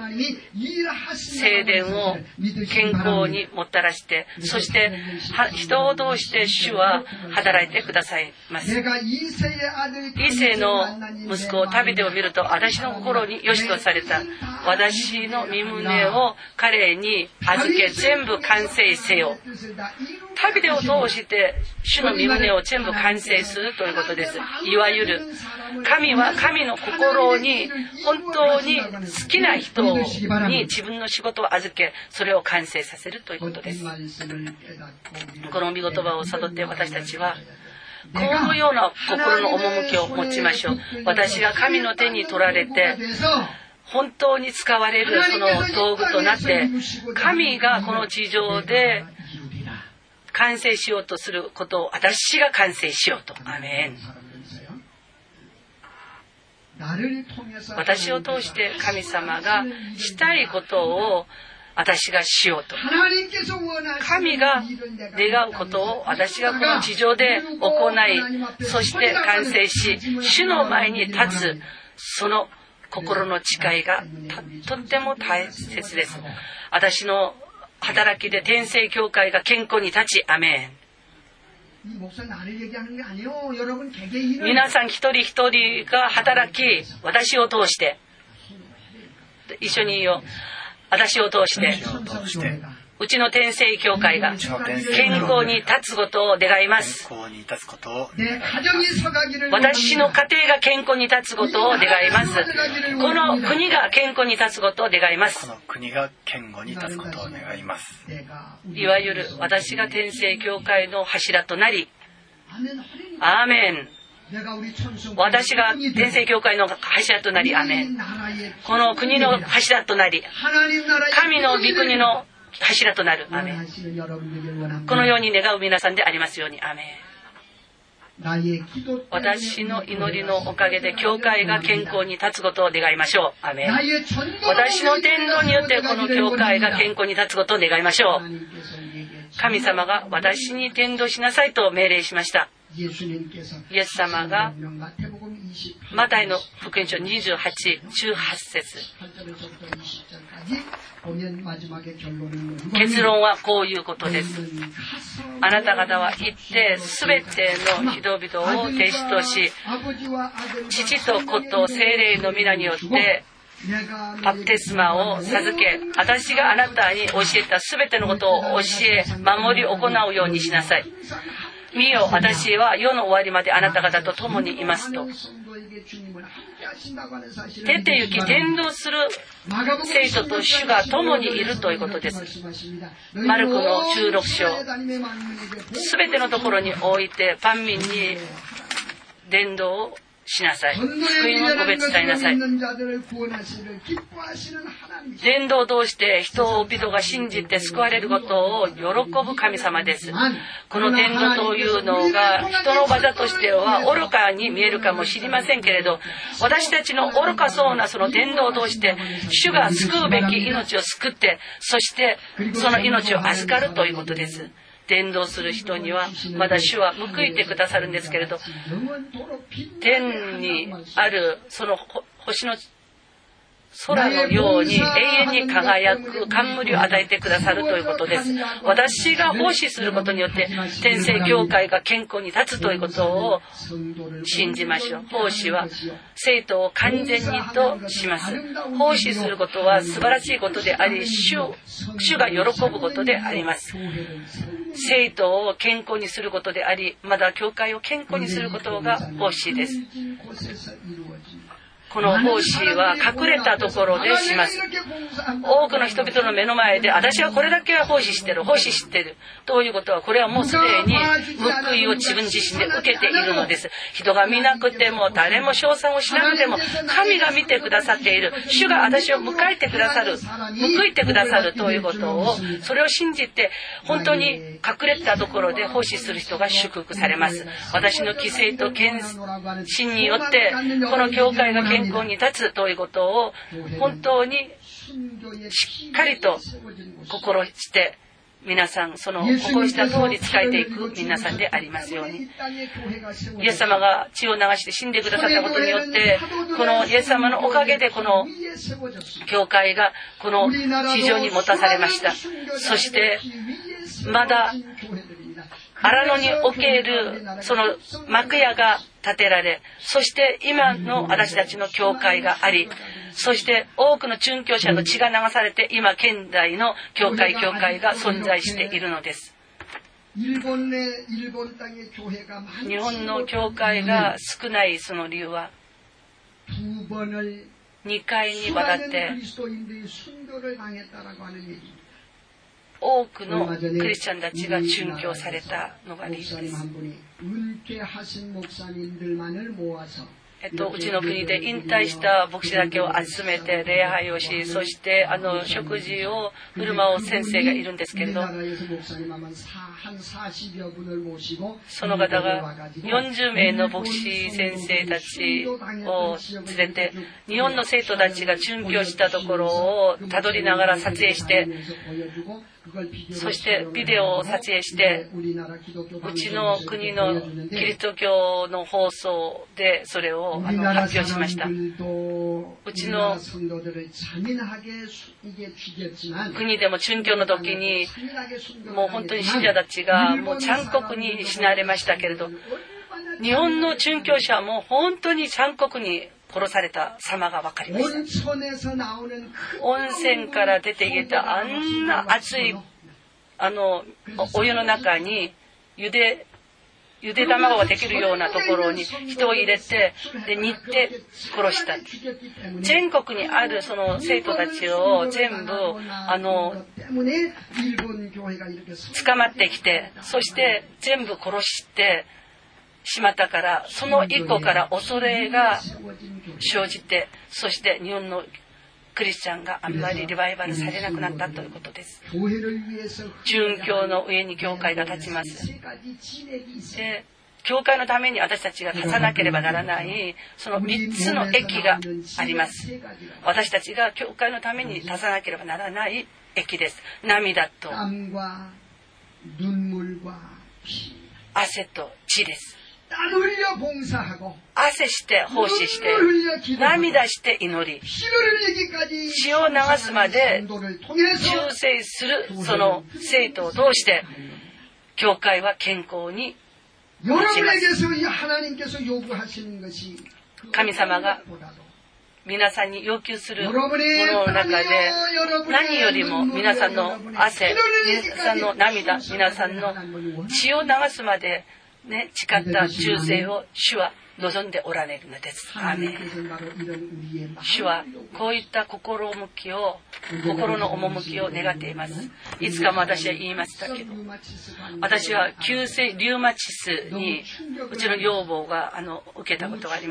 聖殿を健康にもたらして、そして人を通して主は働いてくださいます。イセの息子タビデを見ると、私の心に良しとされた。私の身胸を彼に預け全部完成せよ。タビデを通して主の身胸を全部完成するということです。いわゆる神は神の心に本当に好きな人に自分の仕事を預け、それを完成させるということです。この御言葉を悟って私たちはこのような心の趣を持ちましょう。私が神の手に取られて本当に使われるその道具となって、神がこの地上で完成しようとすることを私が完成しようと。アメン。私を通して神様がしたいことを私がしようと。神が願うことを私がこの地上で行い、そして完成し、主の前に立つ、その心の誓いがとっても大切です。私の働きで天聖教会が健康に立ち、アメン。皆さん一人一人が働き、私を通して、一緒に言おう。私を通して、うちの天聖教会が健康に立つことを願います。私の家庭が健康に立つことを願います。この国が健康に立つことを願います。 この国が健康に立つことを願います。 いわゆる私が天聖教会の柱となり、アーメン。私が天聖教会の柱となり、アーメン。この国の柱となり、神の御国の柱となる。アーメン。このように願う皆さんでありますように。アーメン。私の祈りのおかげで教会が健康に立つことを願いましょう。アーメン。私の伝道によってこの教会が健康に立つことを願いましょう。神様が私に伝道しなさいと命令しました。イエス様がマタイの福音書にじゅうはち、じゅうはち節、結論はこういうことです。あなた方は行ってすべての人々を弟子とし、父と子と聖霊の皆によってバプテスマを授け、私があなたに教えたすべてのことを教え守り行うようにしなさい。見よ、私は世の終わりまであなた方と共にいますと。出て行き伝道する生徒と主が共にいるということです。マルコのじゅうろく章、すべてのところにおいて万民に伝道をしなさい。福音をご別伝えなさい。伝道を通して人々が信じて救われることを喜ぶ神様です。この伝道というのが人の技としては愚かに見えるかもしれませんけれど、私たちの愚かそうなその伝道を通して主が救うべき命を救って、そしてその命を預かるということです。伝道する人にはまだ主は報いてくださるんですけれど、天にあるその星の空のように永遠に輝く冠を与えてくださるということです。私が奉仕することによって天聖教会が健康に立つということを信じましょう。奉仕は生徒を完全にとします。奉仕することは素晴らしいことであり、主、主が喜ぶことであります。生徒を健康にすることであり、まだ教会を健康にすることが奉仕です。この奉仕は隠れたところでします。多くの人々の目の前で私はこれだけは奉仕してる、奉仕してるということは、これはもうすでに報いを自分自身で受けているのです。人が見なくても誰も称賛をしなくても神が見てくださっている、主が私を迎えてくださる、報いてくださるということを、それを信じて本当に隠れたところで奉仕する人が祝福されます。私の犠牲と献身によってこの教会が健康に立つということを本当にしっかりと心して皆さんその心した通り仕えていく皆さんでありますように。イエス様が血を流して死んでくださったことによって、このイエス様のおかげでこの教会がこの地上に持たされました。そしてまだ荒野におけるその幕屋が建てられ、そして今の私たちの教会があり、そして多くの殉教者の血が流されて今現代の教会教会が存在しているのです。日本の教会が少ないその理由は、にかいにわたって多くのクリスチャンたちが殉教されたのが理由です。えっと、うちの国で引退した牧師だけを集めて礼拝をし、そしてあの食事を振る舞う先生がいるんですけれど、その方がよんじゅうめいの牧師先生たちを連れて、日本の生徒たちが殉教したところをたどりながら撮影して、そしてビデオを撮影して、うちの国のキリスト教の放送でそれをあの発表しました。うちの国でも殉教の時にもう本当に信者たちがもう残酷に死なれましたけれど、日本の殉教者も本当に残酷に殺された様が分かりました。温泉から出てきたあんな熱いあのお湯の中にゆでゆで卵ができるようなところに人を入れて、で煮って殺した。全国にあるその生徒たちを全部あの捕まってきて、そして全部殺してしまったから、その以降から恐れが生じて、そして日本のクリスチャンがあんまりリバイバルされなくなったということです。殉教の上に教会が立ちます。で、教会のために私たちが立たなければならないそのみっつの駅があります。私たちが教会のために立たなければならない駅です。涙と汗と血です。汗して奉仕して涙して祈り、血を流すまで忠誠するその生徒を通して教会は健康に立ちます。神様が皆さんに要求するものの中で、何よりも皆さんの汗、皆さんの涙、皆さんの血を流すまでね、誓った忠誠を主は望んでおられるのです。アーメン。主はこういった心向きを、心の趣を願っています。いつかも私は言いましたけど、私は急性リウマチスにうちの養母があの受けたことがあります。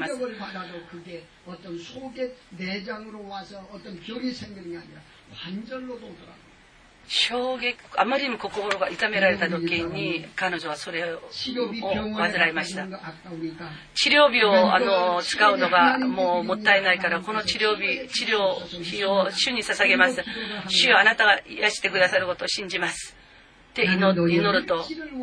衝撃、あまりにも心が痛められた時に彼女はそれを患いました。治療費をあの使うのがもうもったいないから、この治療費、治療費を主に捧げます。主よ、あなたが癒してくださることを信じますって祈ると、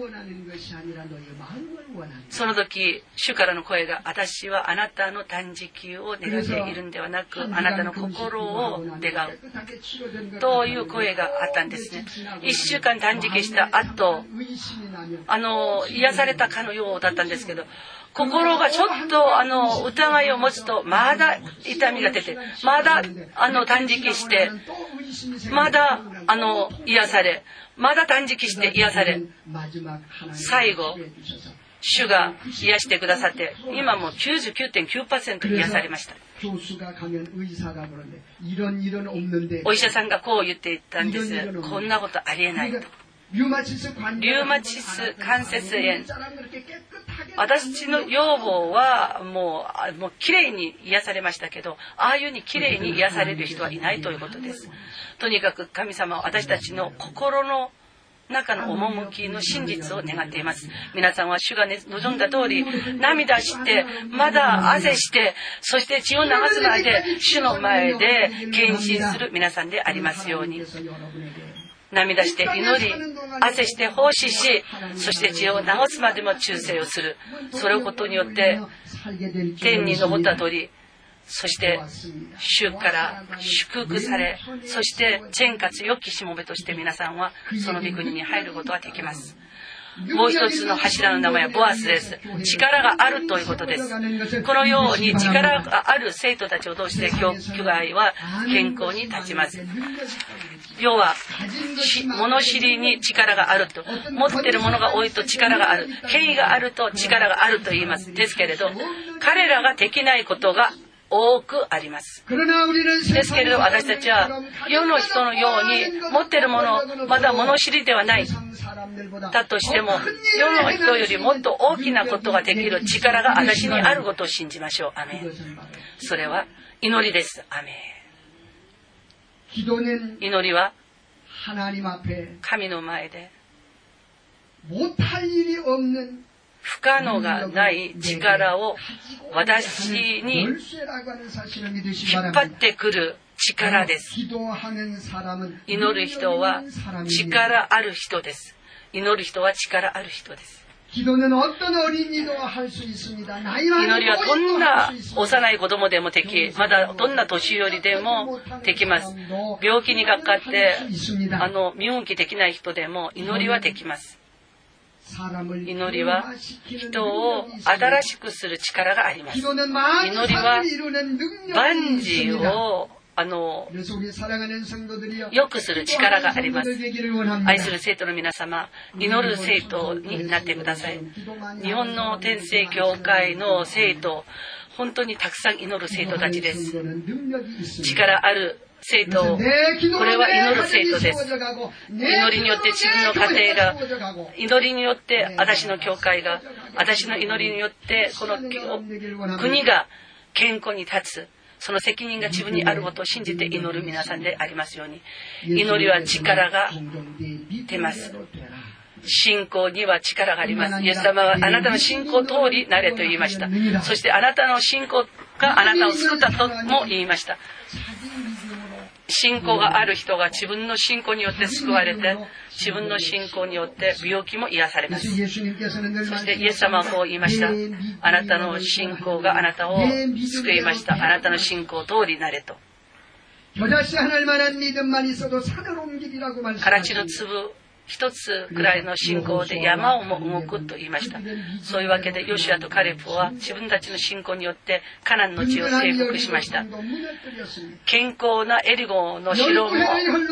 その時主からの声が、私はあなたの断食を願っているんではなく、あなたの心を願うという声があったんですね。一週間断食した後、あの癒されたかのようだったんですけど、心がちょっとあの疑いを持つとまだ痛みが出て、まだあの断食して、まだあの癒され、まだ断食して癒され、最後主が癒してくださって、今も きゅうじゅうきゅうてんきゅうパーセント 癒されました。お医者さんがこう言っていたんです。こんなことありえないと。リウマチス関節炎、私の養母はもう、もうきれいに癒されましたけど、ああいうにきれいに癒される人はいないということです。とにかく神様は私たちの心の中の趣の真実を願っています。皆さんは主が望んだ通り、涙して、まだ汗して、そして血を流すまで主の前で献身する皆さんでありますように。涙して祈り、汗して奉仕し、そして血を流すまでも忠誠をする。それをことによって天に昇った鳥、そして主から祝福され、そして天活良きしもべとして皆さんはその御国に入ることができます。もう一つの柱の名前はボアスです。力があるということです。このように力がある生徒たちを通して教会は健康に立ちます。要は物知りに力があると、持っているものが多いと力がある、権威があると力があると言います。ですけれど、彼らができないことが多くあります。ですけれど私たちは世の人のように持っているもの、まだ物知りではないだとしても、世の人よりもっと大きなことができる力が私にあることを信じましょう。アメン。それは祈りです。アメン。祈りは神の前で不可能がない力を私に引っ張ってくる力です。祈る人は力ある人です。祈る人は力ある人です。祈りはどんな幼い子供でもでき、まだどんな年寄りでもできます。病気にかかってあの身動きできない人でも祈りはできます。祈りは人を新しくする力があります。祈りは万事をあの良くする力があります。愛する生徒の皆様、祈る生徒になってください。日本の天聖教会の生徒、本当にたくさん祈る生徒たちです。力ある生徒、これは祈る生徒です。祈りによって自分の家庭が、祈りによって私の教会が、私の祈りによってこの国が健康に立つ、その責任が自分にあることを信じて祈る皆さんでありますように。祈りは力が出ます。信仰には力があります。イエス様はあなたの信仰通りなれと言いました。そしてあなたの信仰があなたを救ったとも言いました。信仰がある人が自分の信仰によって救われて、自分の信仰によって病気も癒されます。そしてイエス様はこう言いました。あなたの信仰があなたを救いました。あなたの信仰通りなれと。からちの粒一つくらいの信仰で山をも動くと言いました。そういうわけでヨシュアとカレプは自分たちの信仰によってカナンの地を征服しました。健康なエリゴの城も滅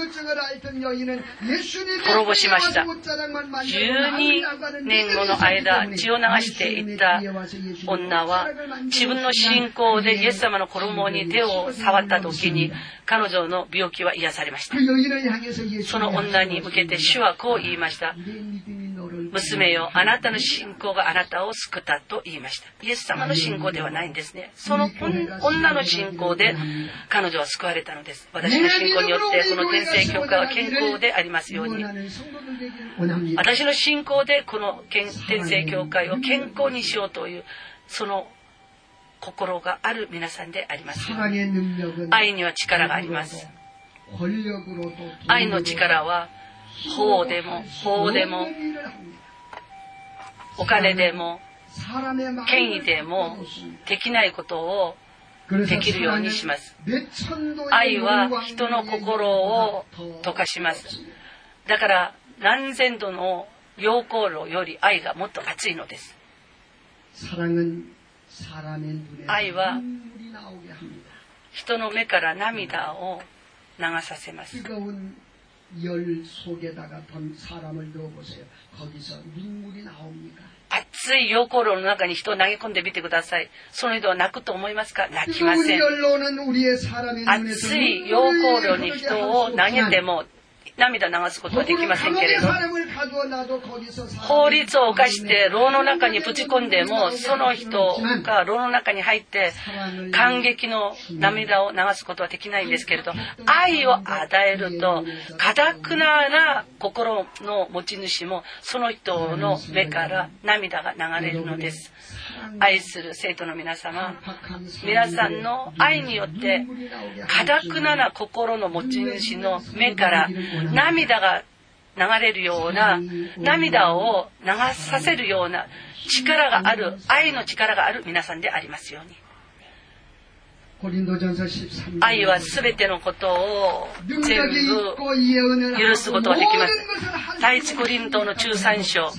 ぼしました。じゅうにねんごの間血を流していった女は自分の信仰でイエス様の衣に手を触った時に彼女の病気は癒されました。その女に向けて主はこう言いました。娘よ、あなたの信仰があなたを救ったと言いました。イエス様の信仰ではないんですね。その女の信仰で彼女は救われたのです。私の信仰によってこの天聖教会は健康でありますように。私の信仰でこの天聖教会を健康にしようというその心がある皆さんであります。愛には力があります。愛の力は法でも法でもお金でも権威でもできないことをできるようにします。愛は人の心を溶かします。だから何千度の溶鉱炉より愛がもっと熱いのです。愛は人の目から涙を流させます。熱い溶鉱炉の中に人を投げ込んでみてください。その人は泣くと思いますか？泣きません。熱い溶鉱炉に人を投げても涙流すことはできませんけれど、法律を犯して牢の中にぶち込んでもその人が牢の中に入って感激の涙を流すことはできないんですけれど、愛を与えると堅くな心の持ち主もその人の目から涙が流れるのです。愛する生徒の皆様、皆さんの愛によって堅くな心の持ち主の目から涙が流れるような、涙を流させるような力がある、愛の力がある皆さんでありますように。愛はすべてのことを全部許すことができます。第一コリントのじゅうさん章、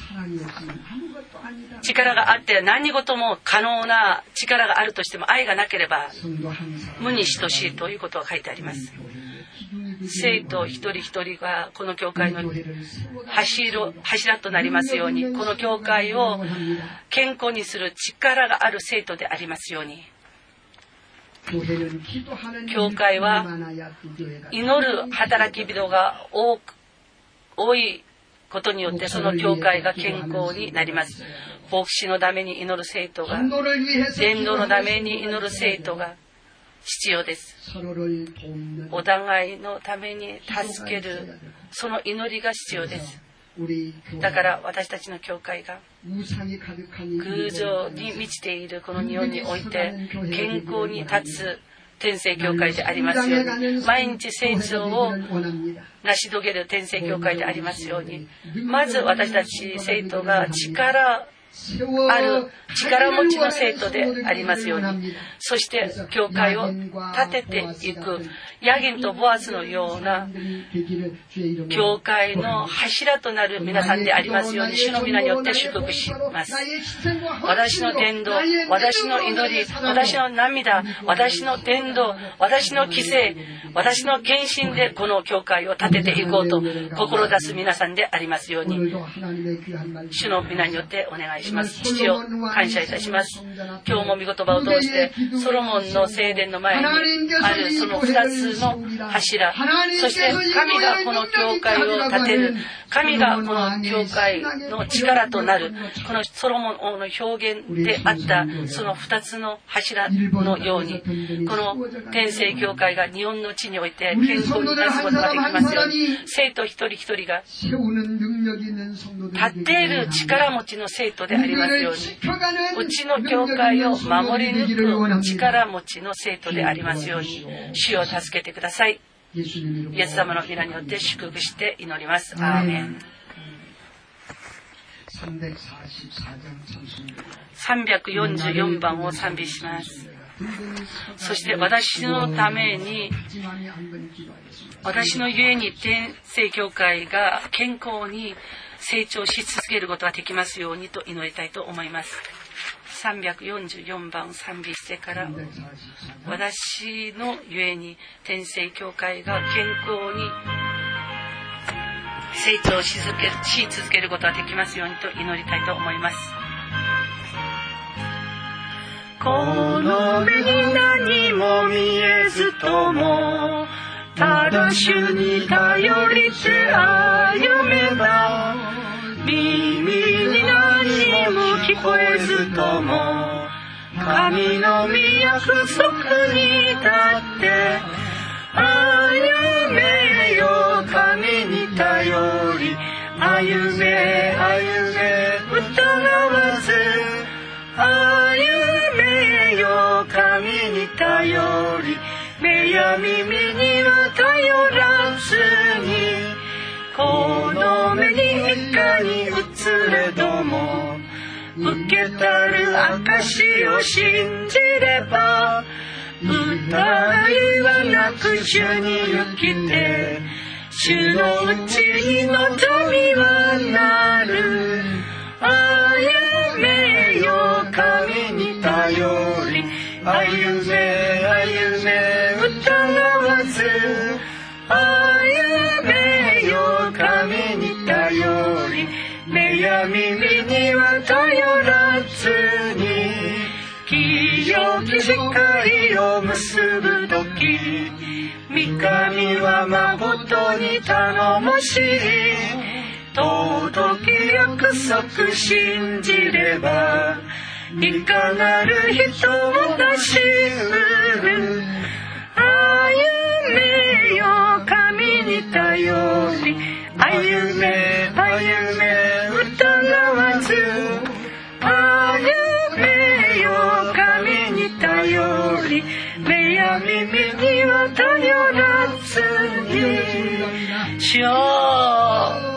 力があって何事も可能な力があるとしても愛がなければ無に等しいということが書いてあります。生徒一人一人がこの教会の柱、柱となりますように、この教会を健康にする力がある生徒でありますように。 教会は祈る働き人が多く多いことによってその教会が健康になります。牧師のために祈る生徒が、伝道のために祈る生徒が必要です。お互いのために助けるその祈りが必要です。だから私たちの教会が偶像に満ちているこの日本において健康に立つ天聖教会でありますように、毎日成長を成し遂げる天聖教会でありますように、まず私たち生徒が力ある力持ちの生徒でありますように、そして教会を立てていくヤギンとボアズのような教会の柱となる皆さんでありますように、主の皆によって祝福します。私の伝道、私の祈り、私の涙、私の伝道、私の犠牲、私の献身でこの教会を立てていこうと志す皆さんでありますように、主の皆によってお願いします。父を感謝いたします。今日も御言葉を通してソロモンの聖殿の前にあるそのふたつの柱、そして神がこの教会を建てる、神がこの教会の力となる、このソロモン王の表現であったそのふたつの柱のように、この天聖教会が日本の地において健康に立つことができますように、生徒一人一人が立っている力持ちの生徒でありますように、うちの教会を守り抜く力持ちの生徒でありますように、主を助けてください。イエス様の皆によって祝福して祈ります。アーメン。さんびゃくよんじゅうよんばんを賛美します。そして私のために、私のゆえに天聖教会が健康に成長し続けることができますようにと祈りたいと思います。さんびゃくよんじゅうよんばん賛美してから、私のゆえに天聖教会が健康に成長し続ける、し続けることができますようにと祈りたいと思います。 この目に何も見えずとも、ただ主に頼りて歩めば、耳に何も聞こえずとも、神の御約束に立って歩めよ。神に頼り歩め歩め疑わず歩めよ。神に頼り目や耳には頼らずに、この目にいかに映れども受けたる証を信じれば、疑いはなく主に生きて、主のうちに望みはなる。歩めよ。神に頼り歩め歩め疑わず歩めよ。神に頼り目や耳には頼らずに、清き光を結ぶとき、御神は誠に頼もしい。届き約束信じれば、いかなる人を出し得る。歩めよ。神に頼り歩め歩め疑わず歩めよ。神に頼り目や耳には頼らずに。 主よ、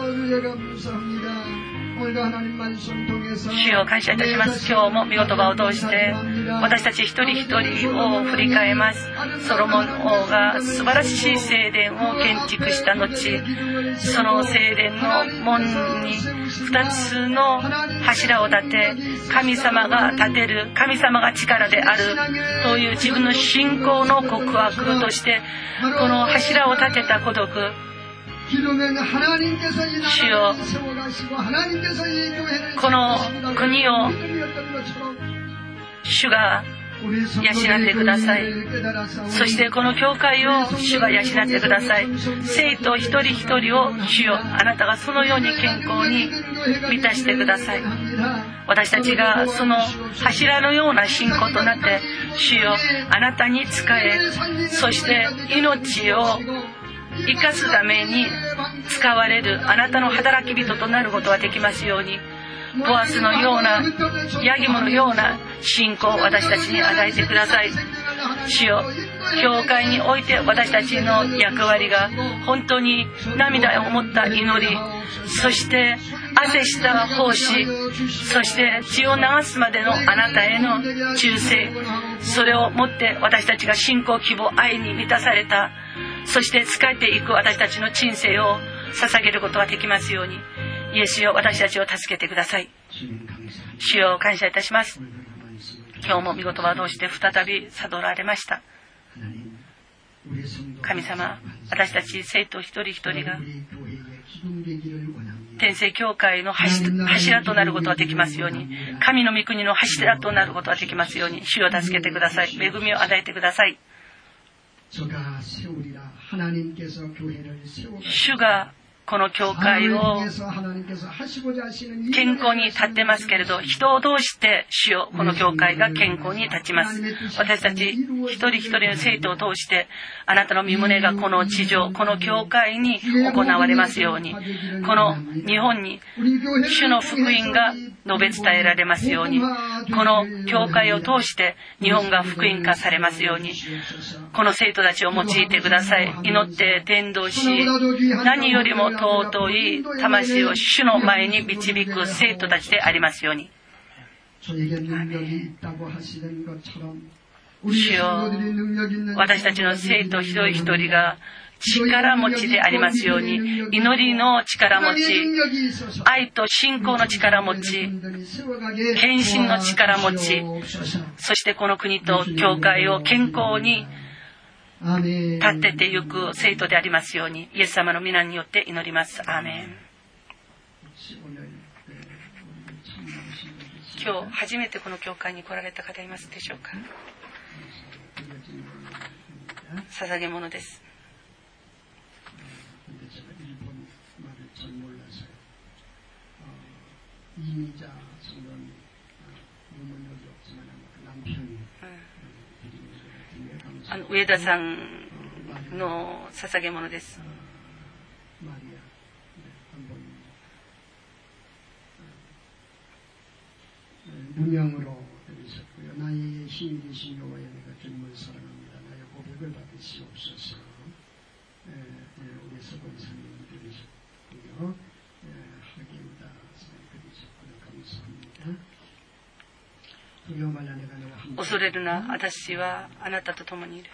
主を感謝いたします。今日も御言葉を通して私たち一人一人を振り返ります。ソロモン王が素晴らしい聖殿を建築した後、その聖殿の門に二つの柱を立て、神様が建てる、神様が力であるという自分の信仰の告白として、この柱を立てた孤独、主よ、この国を主が養ってください。そしてこの教会を主が養ってください。生徒一人一人を主よ、あなたがそのように健康に満たしてください。私たちがその柱のような信仰となって主よ、あなたに仕え、そして命を生かすために使われるあなたの働き人となることができますように、ボアスのようなヤギモのような信仰を私たちに与えてください。主よ、教会において私たちの役割が本当に涙を持った祈り、そして汗した奉仕、そして血を流すまでのあなたへの忠誠、それをもって私たちが信仰、希望、愛に満たされた、そして仕えていく私たちの人生を捧げることができますように、イエスよ、私たちを助けてください。主よ、感謝いたします。今日も御言葉を通して再び悟られました。神様、私たち生徒一人一人が天聖教会の柱となることができますように、神の御国の柱となることができますように、主を助けてください。恵みを与えてください。主がこの教会を健康に立ってますけれど、人を通して主よ、この教会が健康に立ちます。私たち一人一人の生徒を通してあなたの御胸がこの地上、この教会に行われますように、この日本に主の福音が述べ伝えられますように、この教会を通して日本が福音化されますように、この生徒たちを用いてください。祈って伝道し、何よりも尊い魂を主の前に導く生徒たちでありますように。主よ、私たちの生徒一人一人が力持ちでありますように、祈りの力持ち、愛と信仰の力持ち、献身の力持ち、そしてこの国と教会を健康に立ててゆく生徒でありますように、イエス様の皆によって祈ります。アーメン。今日初めてこの教会に来られた方いますでしょうか。捧げ物です。あの上田さんの捧げ物です。 무명으로 드리셨고요. 나의 신이 되신 여호와의 내가 주님을 사랑합니다. 나의 고백을 받으시옵소서. 에, 에, 우리 서건사님 드리셨고요. 하기우다 드리셨고요. 감사합니다. 두려워 말라 내가 너와 함께. 恐れるな、私はあなたと共にいる。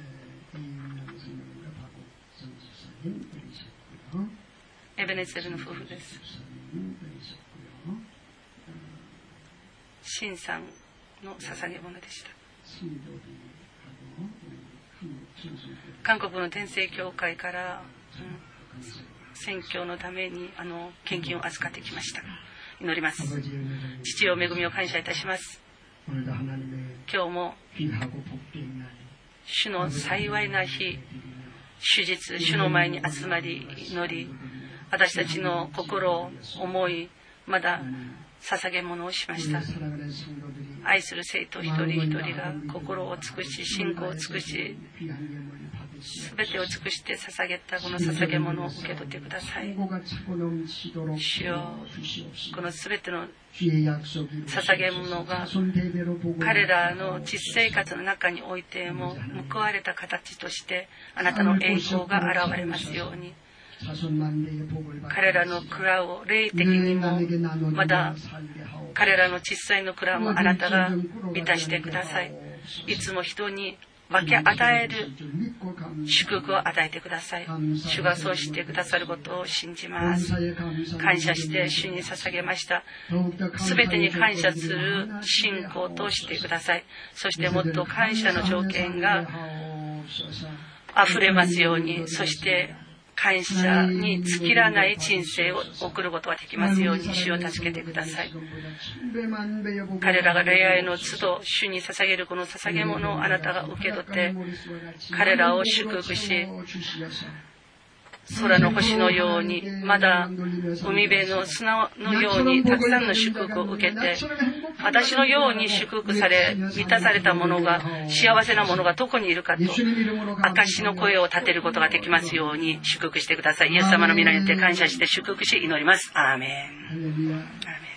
이윤영 선생님과 박옥 선지사님 드리셨고요. エベネゼルの夫婦です。シンさんの捧げ物でした。韓国の天聖教会から、うん、宣教のためにあの献金を預かってきました。祈ります。父よ、恵みを感謝いたします。今日も主の幸いな日、主日、主の前に集まり祈り、私たちの心を思い、まだ捧げ物をしました。愛する生徒一人一人が心を尽くし、信仰を尽くし、すべてを尽くして捧げたこの捧げ物を受け取ってください。主よ、このすべての捧げ物が彼らの実生活の中においても報われた形としてあなたの栄光が現れますように、彼らの蔵を霊的にも、また彼らの小さいの蔵もあなたが満たしてください。いつも人に分け与える祝福を与えてください。主がそうしてくださることを信じます。感謝して主に捧げました。すべてに感謝する信仰としてください。そしてもっと感謝の条件があふれますように、そして感謝に尽きらない人生を送ることができますように主を助けてください。彼らが礼拝の都度主に捧げるこの捧げ物をあなたが受け取って彼らを祝福し、空の星のように、まだ海辺の砂のようにたくさんの祝福を受けて、私のように祝福され満たされた者が、幸せな者がどこにいるかと証の声を立てることができますように祝福してください。イエス様の皆によって感謝して祝福し祈ります。アーメン。アーメン。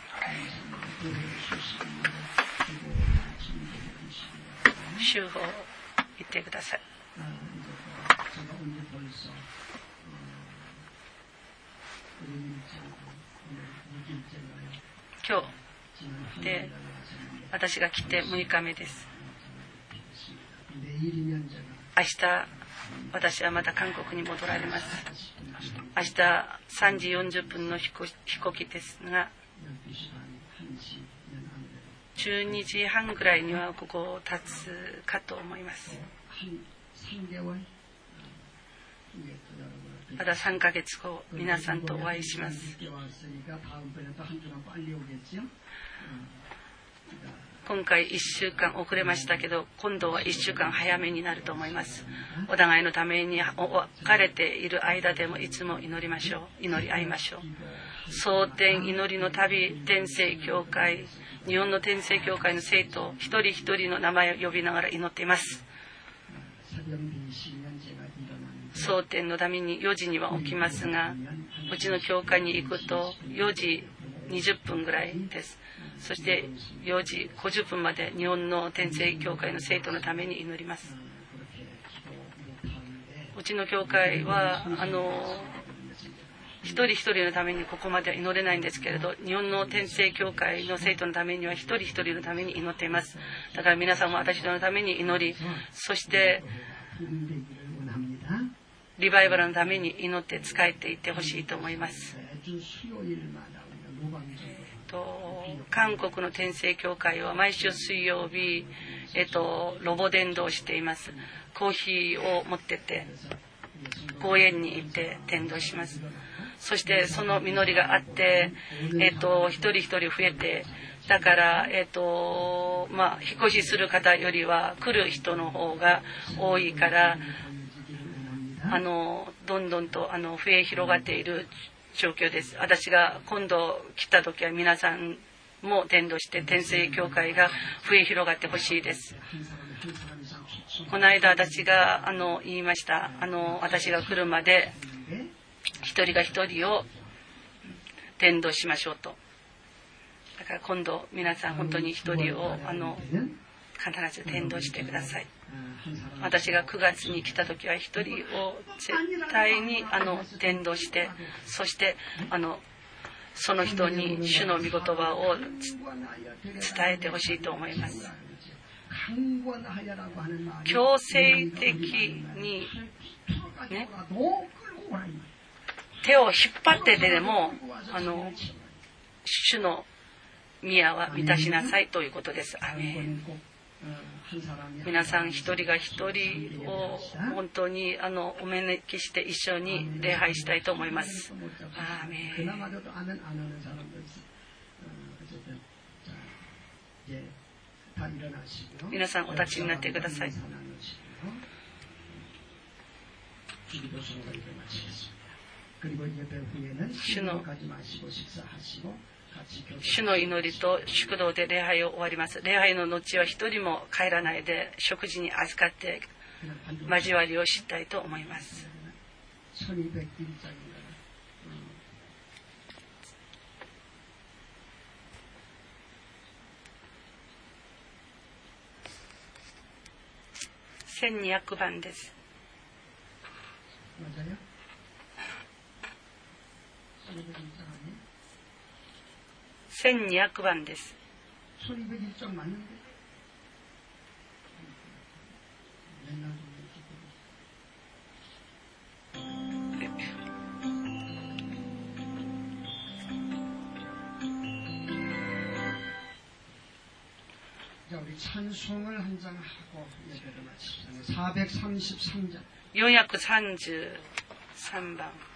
主を言ってください。今日で私が来てむいかめです。明日私はまた韓国に戻られます。明日さんじよんじゅっぷんの飛行機ですが、じゅうにじはんぐらいにはここを立つかと思います。まださんかげつご皆さんとお会いします。今回いっしゅうかん遅れましたけど、今度はいっしゅうかん早めになると思います。お互いのために別れている間でもいつも祈りましょう。祈り合いましょう。蒼天祈りの旅天聖教会、日本の天聖教会の生徒一人一人の名前を呼びながら祈っています。蒼天のためによじには起きますが、うちの教会に行くとよじにじゅっぷんぐらいです。そしてよじごじゅっぷんまで日本の天聖教会の生徒のために祈ります。うちの教会はあの一人一人のためにここまでは祈れないんですけれど、日本の天聖教会の生徒のためには一人一人のために祈っています。だから皆さんも私のために祈り、そしてリバイバルのために祈って仕えていってほしいと思います。と韓国の天聖教会は毎週水曜日、えっと、ロボ伝道をしています。コーヒーを持ってって公園に行って伝道します。そしてその実りがあって、えっと、一人一人増えて、だから、えっとまあ、引っ越しする方よりは来る人の方が多いから、あのどんどんとあの増え広がっている状況です。私が今度来た時は皆さんも伝道して天聖教会が増え広がってほしいです。この間私があの言いました。あの私が来るまで一人が一人を伝道しましょうと。だから今度皆さん本当に一人をあの必ず伝道してください。私がくがつに来た時は一人を絶対にあの伝道して、そしてあのその人に主の御言葉を伝えてほしいと思います。強制的に、ね、手を引っ張ってでもあの主の宮は満たしなさいということです。アメン。皆さん一人が一人を本当にあのお招きして一緒に礼拝したいと思います。アーメン。皆さんお立ちになってください。主の主の祈りと祝祷で礼拝を終わります。礼拝の後は一人も帰らないで食事に預かって交わりをしたいと思います。せんにひゃくばんです。せんにひゃくばんです。よんひゃくさんじゅうさんばん